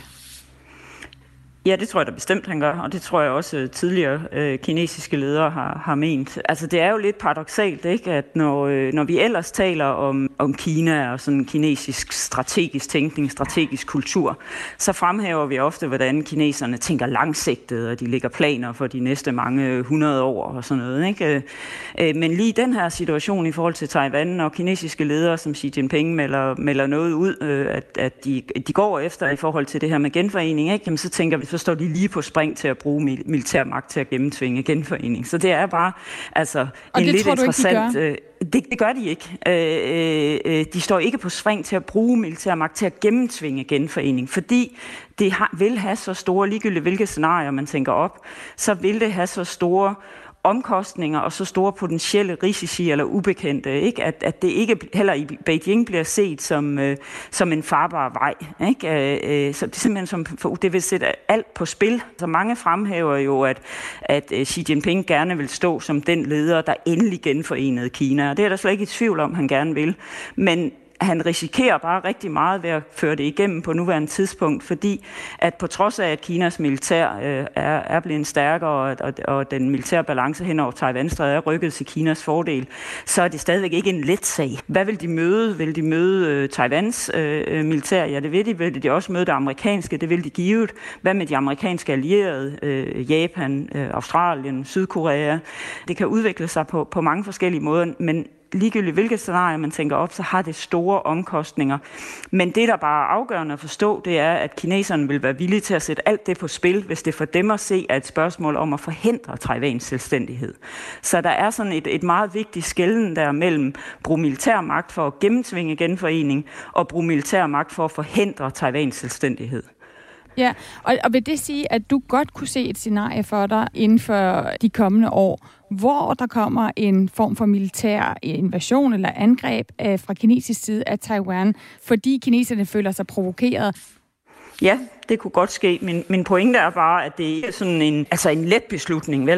Ja, det tror jeg da bestemt, han gør, og det tror jeg også tidligere øh, kinesiske ledere har, har ment. Altså, det er jo lidt paradoksalt, ikke, at når, øh, når vi ellers taler om, om Kina og sådan kinesisk strategisk tænkning, strategisk kultur, så fremhæver vi ofte, hvordan kineserne tænker langsigtet, og de lægger planer for de næste mange hundrede år og sådan noget, ikke? Øh, men lige den her situation i forhold til Taiwan, og kinesiske ledere som Xi Jinping melder, melder noget ud, øh, at, at de, de går efter i forhold til det her med genforening, ikke? Jamen, så tænker vi, så står de lige på spring til at bruge militær magt til at gennemtvinge genforening. Så det er bare altså
og
en
det
lidt
tror du
interessant...
Ikke, de, gør?
Øh, det, det gør de ikke. Øh, øh, de står ikke på spring til at bruge militær magt til at gennemtvinge genforening, fordi det har, vil have så store, ligegyldigt hvilke scenarier man tænker op, så vil det have så store omkostninger og så store potentielle risici eller ubekendte, ikke? At, at det ikke heller i Beijing bliver set som, øh, som en farbar vej. Ikke? Øh, så det er simpelthen som, for, det vil sætte alt på spil. Så mange fremhæver jo, at, at Xi Jinping gerne vil stå som den leder, der endelig genforenede Kina. Og det er der slet ikke i tvivl om, han gerne vil. Men han risikerer bare rigtig meget ved at føre det igennem på nuværende tidspunkt, fordi at på trods af, at Kinas militær øh, er, er blevet stærkere, og, og, og den militære balance hen over Taiwan-strædet er rykket til Kinas fordel, så er det stadigvæk ikke en let sag. Hvad vil de møde? Vil de møde øh, Taiwans øh, militær? Ja, det vil de. Vil de også møde det amerikanske? Det vil de givet. Hvad med de amerikanske allierede? Øh, Japan, øh, Australien, Sydkorea? Det kan udvikle sig på, på mange forskellige måder, men ligegyldigt hvilket scenarie man tænker op, så har det store omkostninger. Men det, der bare er afgørende at forstå, det er, at kineserne vil være villige til at sætte alt det på spil, hvis det for dem at se er et spørgsmål om at forhindre Taiwans selvstændighed. Så der er sådan et, et meget vigtigt skelnen der mellem brug militær magt for at gennemtvinge genforening og brug militær magt for at forhindre Taiwans selvstændighed.
Ja, og, og vil det sige, at du godt kunne se et scenarie for dig inden for de kommende år, hvor der kommer en form for militær invasion eller angreb af, fra kinesisk side af Taiwan, fordi kineserne føler sig provokeret?
Ja, det kunne godt ske. Min, min pointe er bare, at det ikke er sådan en, altså en let beslutning, vel?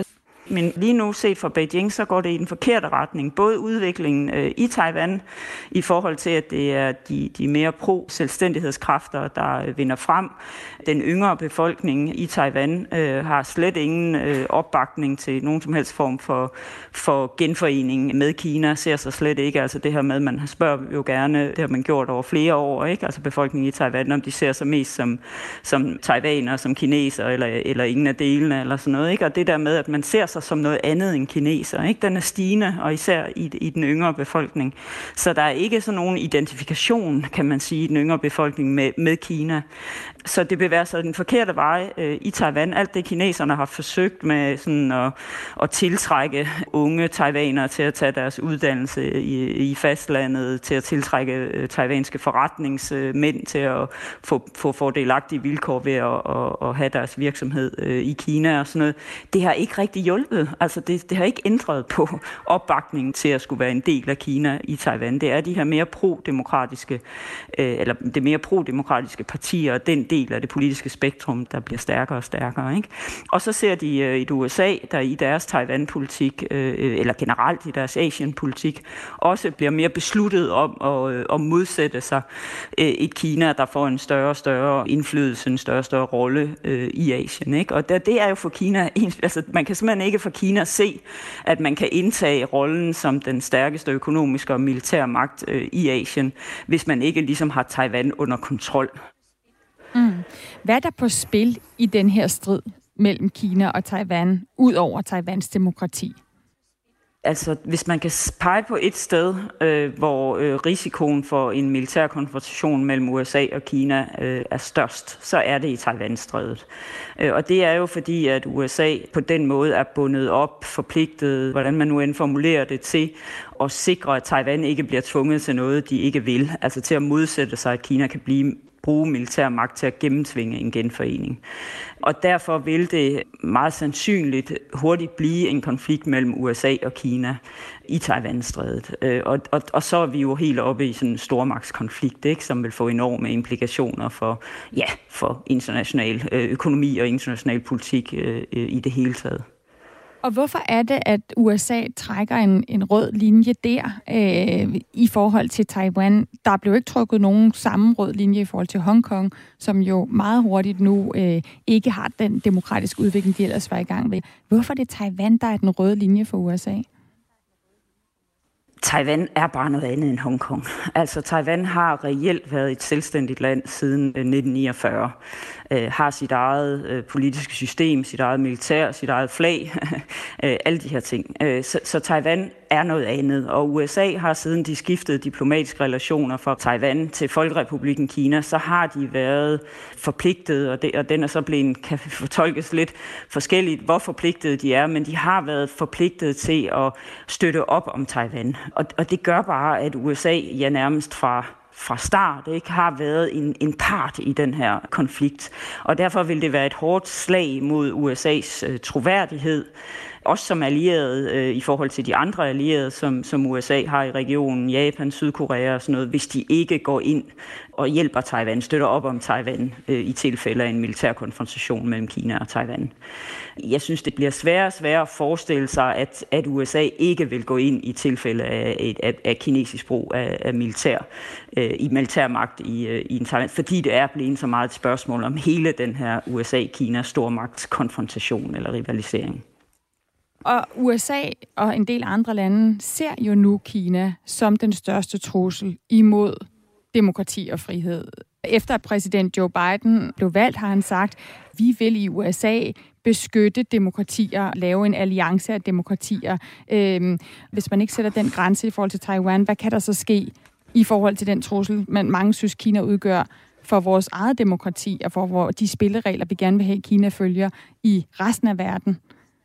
Men lige nu set fra Beijing, så går det i den forkerte retning. Både udviklingen øh, i Taiwan i forhold til, at det er de, de mere pro-selvstændighedskræfter, der vinder frem. Den yngre befolkning i Taiwan øh, har slet ingen øh, opbakning til nogen som helst form for, for genforening med Kina, ser sig slet ikke. Altså det her med, man spørger jo gerne, det har man gjort over flere år, ikke? Altså befolkningen i Taiwan, om de ser sig mest som, som taiwanere, som kinesere, eller, eller ingen af delene, eller sådan noget, ikke? Og det der med, at man ser sig som noget andet end kineser, ikke? Den er stigende, og især i, i den yngre befolkning. Så der er ikke sådan nogen identifikation, kan man sige, i den yngre befolkning med, med Kina. Så det bevæger sig den forkerte vej øh, i Taiwan. Alt det kineserne har forsøgt med sådan at, at tiltrække unge taiwanere til at tage deres uddannelse i, i fastlandet, til at tiltrække øh, taiwanske forretningsmænd til at få, få fordelagtige vilkår ved at, at, at have deres virksomhed øh, i Kina og sådan noget. Det har ikke rigtig hjulpet. Altså det, det har ikke ændret på opbakningen til at skulle være en del af Kina i Taiwan. Det er de her mere pro-demokratiske, øh, eller det mere pro-demokratiske partier, og den del af det politiske spektrum, der bliver stærkere og stærkere, ikke? Og så ser de øh, et U S A, der i deres Taiwan-politik, øh, eller generelt i deres Asien-politik, også bliver mere besluttet om at, øh, at modsætte sig øh, et Kina, der får en større og større indflydelse, en større og større rolle øh, i Asien, ikke? Og det, det er jo for Kina, altså man kan simpelthen ikke for Kina se, at man kan indtage rollen som den stærkeste økonomiske og militære magt øh, i Asien, hvis man ikke ligesom har Taiwan under kontrol.
Mm. Hvad er der på spil i den her strid mellem Kina og Taiwan, ud over Taiwans demokrati?
Altså, hvis man kan pege på et sted, øh, hvor øh, risikoen for en militær konfrontation mellem U S A og Kina øh, er størst, så er det i Taiwan-strædet. Øh, og det er jo fordi, at U S A på den måde er bundet op, forpligtet, hvordan man nu end formulerer det, til at sikre, at Taiwan ikke bliver tvunget til noget, de ikke vil. Altså til at modsætte sig, at Kina kan blive bruge militær magt til at gennemtvinge en genforening. Og derfor vil det meget sandsynligt hurtigt blive en konflikt mellem U S A og Kina i Taiwan-strædet. Og, og, og så er vi jo helt oppe i sådan en stormagtskonflikt, ikke, som vil få enorme implikationer for, ja, for international økonomi og international politik øh, i det hele taget.
Og hvorfor er det, at U S A trækker en, en rød linje der øh, i forhold til Taiwan? Der blev ikke trukket nogen samme rød linje i forhold til Hongkong, som jo meget hurtigt nu øh, ikke har den demokratiske udvikling, de ellers var i gang med. Hvorfor er det Taiwan, der er den røde linje for U S A?
Taiwan er bare noget andet end Hongkong. Altså, Taiwan har reelt været et selvstændigt land siden nitten niogfyrre. Øh, har sit eget øh, politiske system, sit eget militær, sit eget flag, øh, alle de her ting. Øh, så, så Taiwan er noget andet, og U S A har siden de skiftede diplomatiske relationer fra Taiwan til Folkerepublikken Kina, så har de været forpligtet, og, det, og den er så blevet, kan fortolkes lidt forskelligt, hvor forpligtet de er, men de har været forpligtet til at støtte op om Taiwan. Og, og det gør bare, at U S A ja nærmest fra fra start ikke har været en, en part i den her konflikt. Og derfor vil det være et hårdt slag mod U S A's øh, troværdighed, også som allieret øh, i forhold til de andre allierede, som, som U S A har i regionen, Japan, Sydkorea og sådan noget, hvis de ikke går ind og hjælper Taiwan, støtter op om Taiwan øh, i tilfælde af en militær konfrontation mellem Kina og Taiwan. Jeg synes, det bliver sværere og sværere at forestille sig, at, at U S A ikke vil gå ind i tilfælde af, af, af kinesisk brug af, af militær, øh, i militærmagt i, øh, i en Taiwan, fordi det er blevet så meget et spørgsmål om hele den her U S A-Kina stormagtskonfrontation eller rivalisering.
Og U S A og en del andre lande ser jo nu Kina som den største trussel imod demokrati og frihed. Efter at præsident Joe Biden blev valgt, har han sagt, vi vil i U S A beskytte demokratier, lave en alliance af demokratier. Øhm, hvis man ikke sætter den grænse i forhold til Taiwan, hvad kan der så ske i forhold til den trussel, man mange synes, Kina udgør for vores eget demokrati og for de spilleregler, vi gerne vil have, Kina følger i resten af verden?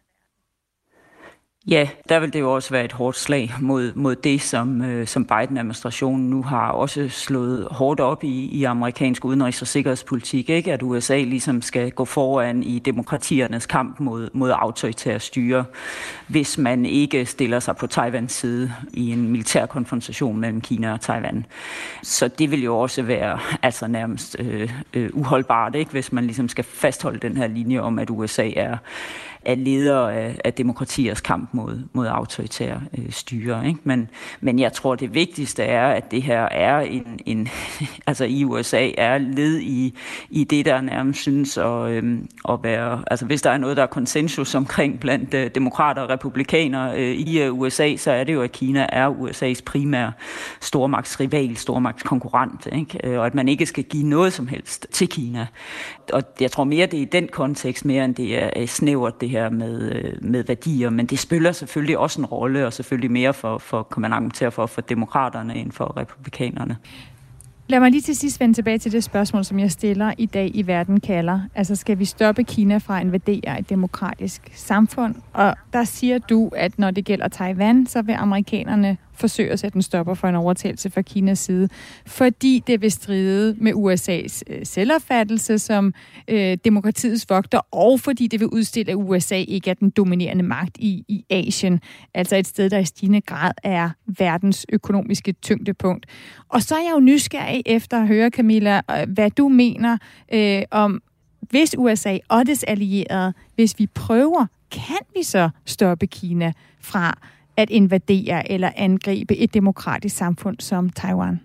Ja, der vil det jo også være et hårdt slag mod, mod det, som, øh, som Biden-administrationen nu har også slået hårdt op i, i amerikansk udenrigs- og sikkerhedspolitik, ikke? At U S A ligesom skal gå foran i demokratiernes kamp mod, mod autoritære styre, hvis man ikke stiller sig på Taiwans side i en militær konfrontation mellem Kina og Taiwan. Så det vil jo også være altså nærmest øh, øh, uholdbart, ikke? Hvis man ligesom skal fastholde den her linje om, at U S A er af ledere af, af demokratiers kamp mod, mod autoritære øh, styre. Ikke? Men, men jeg tror, det vigtigste er, at det her er en, en altså i U S A er led i, i det, der nærmest synes at, øh, at være, altså hvis der er noget, der er konsensus omkring blandt øh, demokrater og republikanere øh, i øh, U S A, så er det jo, at Kina er U S A's primære stormagtsrival, stormagtskonkurrent, ikke? Og at man ikke skal give noget som helst til Kina. Og jeg tror mere, det er i den kontekst, mere end det er snævert det her med, med værdier, men det spiller selvfølgelig også en rolle, og selvfølgelig mere for, for kan man argumentere for, for demokraterne end for republikanerne.
Lad mig lige til sidst vende tilbage til det spørgsmål, som jeg stiller i dag i Verden kalder. Altså, skal vi stoppe Kina fra at invadere et demokratisk samfund? Og der siger du, at når det gælder Taiwan, så vil amerikanerne forsøge at sætte en stopper for en overtagelse fra Kinas side, fordi det vil stride med U S A's øh, selvopfattelse som øh, demokratiets vogter, og fordi det vil udstille, at U S A ikke er den dominerende magt i, i Asien, altså et sted, der i stigende grad er verdens økonomiske tyngdepunkt. Og så er jeg jo nysgerrig efter at høre, Camilla, hvad du mener øh, om, hvis U S A og dets allierede, hvis vi prøver, kan vi så stoppe Kina fra at invadere eller angribe et demokratisk samfund som Taiwan?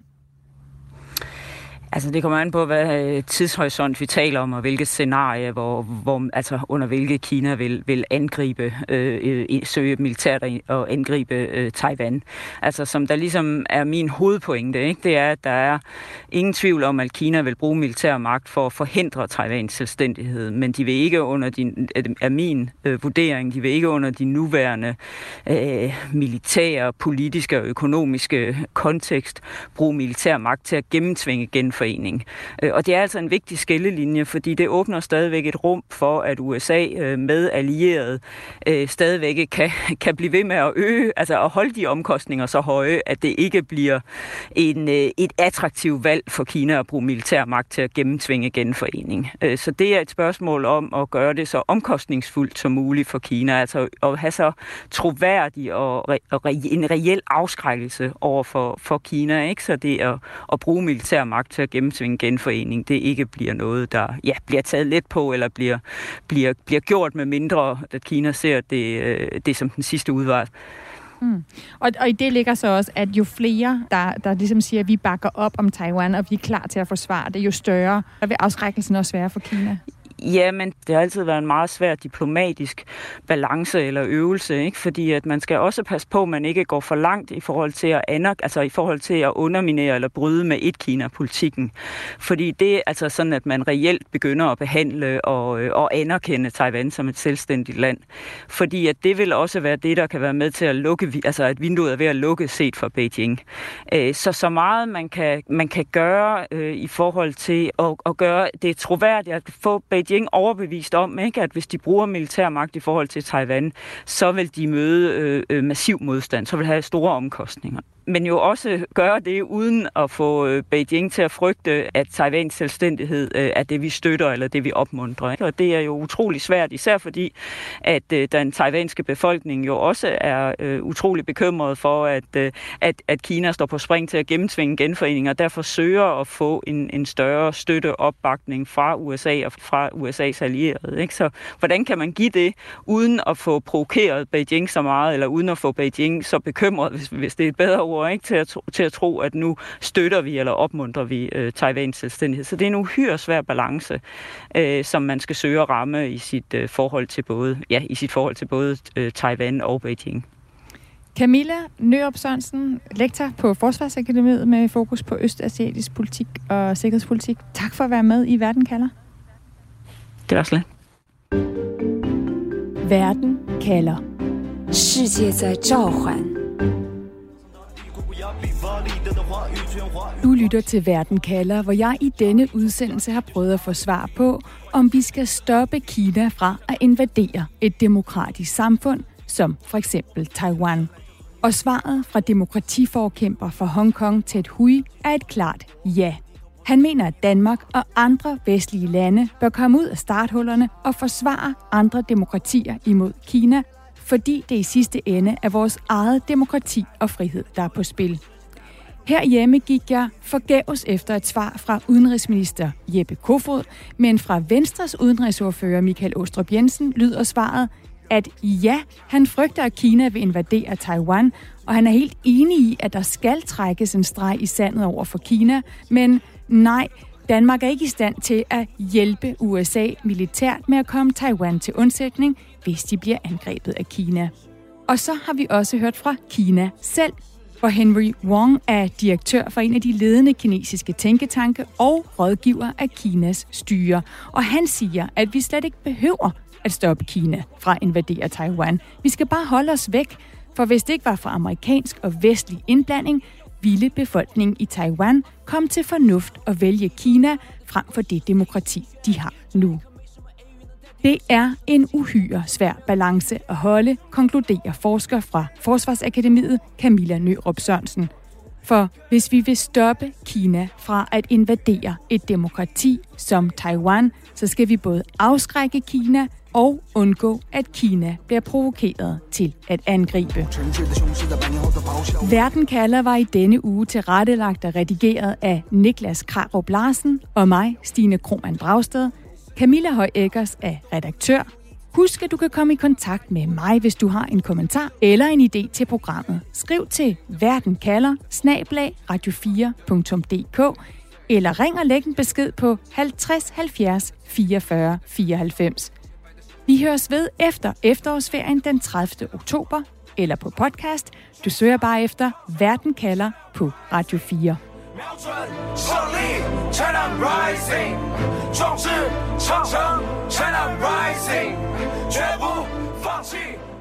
Altså det kommer an på, hvad tidshorisont vi taler om, og hvilket scenarie, hvor, hvor, altså under hvilke Kina vil, vil angribe, øh, søge militært og angribe øh, Taiwan. Altså som der ligesom er min hovedpointe, ikke? Det er, at der er ingen tvivl om, at Kina vil bruge militær magt for at forhindre Taiwans selvstændighed, men de vil ikke under de, af min øh, vurdering, de vil ikke under de nuværende øh, militære, politiske og økonomiske kontekst bruge militær magt til at gennemtvinge genforening. Og det er altså en vigtig skillelinje, fordi det åbner stadigvæk et rum for, at U S A med allierede stadigvæk kan, kan blive ved med at øge, altså at holde de omkostninger så høje, at det ikke bliver en, et attraktivt valg for Kina at bruge militær magt til at gennemtvinge genforening. Så det er et spørgsmål om at gøre det så omkostningsfuldt som muligt for Kina, altså at have så troværdig og, re, og re, en reel afskrækkelse over for, for Kina, ikke? Så det er at, at bruge militær magt til at gennemtvinge genforening, det ikke bliver noget, der ja, bliver taget let på, eller bliver, bliver, bliver gjort med mindre, at Kina ser det, det som den sidste udvej.
Mm. Og, og i det ligger så også, at jo flere, der, der ligesom siger, at vi bakker op om Taiwan, og vi er klar til at forsvare det, jo større, der vil afskrækkelsen også være for Kina.
Ja, men det har altid været en meget svær diplomatisk balance eller øvelse, ikke? Fordi at man skal også passe på, at man ikke går for langt i forhold til at aner, altså i forhold til at underminere eller bryde med et-Kina-politikken. Fordi det er altså sådan, at man reelt begynder at behandle og, og anerkende Taiwan som et selvstændigt land. Fordi at det vil også være det, der kan være med til at lukke, altså at vinduet er ved at lukke set fra Beijing. Så så meget man kan, man kan gøre øh, i forhold til at, at gøre det troværdigt, at få Beijing overbevist om, ikke, at hvis de bruger militær magt i forhold til Taiwan, så vil de møde øh, massiv modstand, så vil have store omkostninger. Men jo også gøre det uden at få Beijing til at frygte, at Taiwans selvstændighed er det, vi støtter, eller det, vi opmuntrer. Ikke? Og det er jo utrolig svært, især fordi, at den taiwanske befolkning jo også er øh, utrolig bekymret for, at, øh, at, at Kina står på spring til at gennemtvinge genforeninger, og derfor søger at få en, en større støtteopbakning fra U S A og fra U S A's allierede. Ikke? Så hvordan kan man give det, uden at få provokeret Beijing så meget, eller uden at få Beijing så bekymret, hvis, hvis det er et bedre ord, ikke? Til, at, til at tro, at nu støtter vi eller opmuntrer vi øh, Taiwans selvstændighed. Så det er en uhyre svær balance, øh, som man skal søge at ramme i sit øh, forhold til både, ja, i sit forhold til både øh, Taiwan og Beijing.
Camilla Nørup Sørensen, lektor på Forsvarsakademiet med fokus på østasiatisk politik og sikkerhedspolitik. Tak for at være med i Verden kalder.
Det var slet.
Verden kalder.
世界在召唤.
Du lytter til Verden kalder, hvor jeg i denne udsendelse har prøvet at få svar på, om vi skal stoppe Kina fra at invadere et demokratisk samfund, som for eksempel Taiwan. Og svaret fra demokratiforkæmper for Hongkong, Ted Hui, er et klart ja. Han mener, at Danmark og andre vestlige lande bør komme ud af starthullerne og forsvare andre demokratier imod Kina, fordi det i sidste ende er vores eget demokrati og frihed, der er på spil. Herhjemme gik jeg forgæves efter et svar fra udenrigsminister Jeppe Kofod, men fra Venstres udenrigsordfører Michael Aastrup Jensen lyder svaret, at ja, han frygter, at Kina vil invadere Taiwan, og han er helt enig i, at der skal trækkes en streg i sandet over for Kina, men nej, Danmark er ikke i stand til at hjælpe U S A militært med at komme Taiwan til undsætning, hvis de bliver angrebet af Kina. Og så har vi også hørt fra Kina selv, hvor Henry Wong er direktør for en af de ledende kinesiske tænketanke og rådgiver af Kinas styre. Og han siger, at vi slet ikke behøver at stoppe Kina fra at invadere Taiwan. Vi skal bare holde os væk, for hvis det ikke var for amerikansk og vestlig indblanding, ville befolkningen i Taiwan komme til fornuft og vælge Kina frem for det demokrati, de har nu. Det er en uhyre svær balance at holde, konkluderer forsker fra Forsvarsakademiet Camilla Nørup Sørensen. For hvis vi vil stoppe Kina fra at invadere et demokrati som Taiwan, så skal vi både afskrække Kina og undgå, at Kina bliver provokeret til at angribe. Verden kalder var i denne uge tilrettelagt og redigeret af Niklas Krarup Larsen og mig, Stine Krohmann Dragsted. Camilla Høj Eggers er redaktør. Husk, at du kan komme i kontakt med mig, hvis du har en kommentar eller en idé til programmet. Skriv til verden kalder snabel-a radio fire punktum d k eller ring og læg en besked på halvtreds halvfjerds fireogfyrre fireoghalvfems. Vi høres ved efter efterårsferien den tredivte oktober eller på podcast. Du søger bare efter Verden kalder på Radio fire. 胜利 China Rising 壮志长城 China Rising 绝不放弃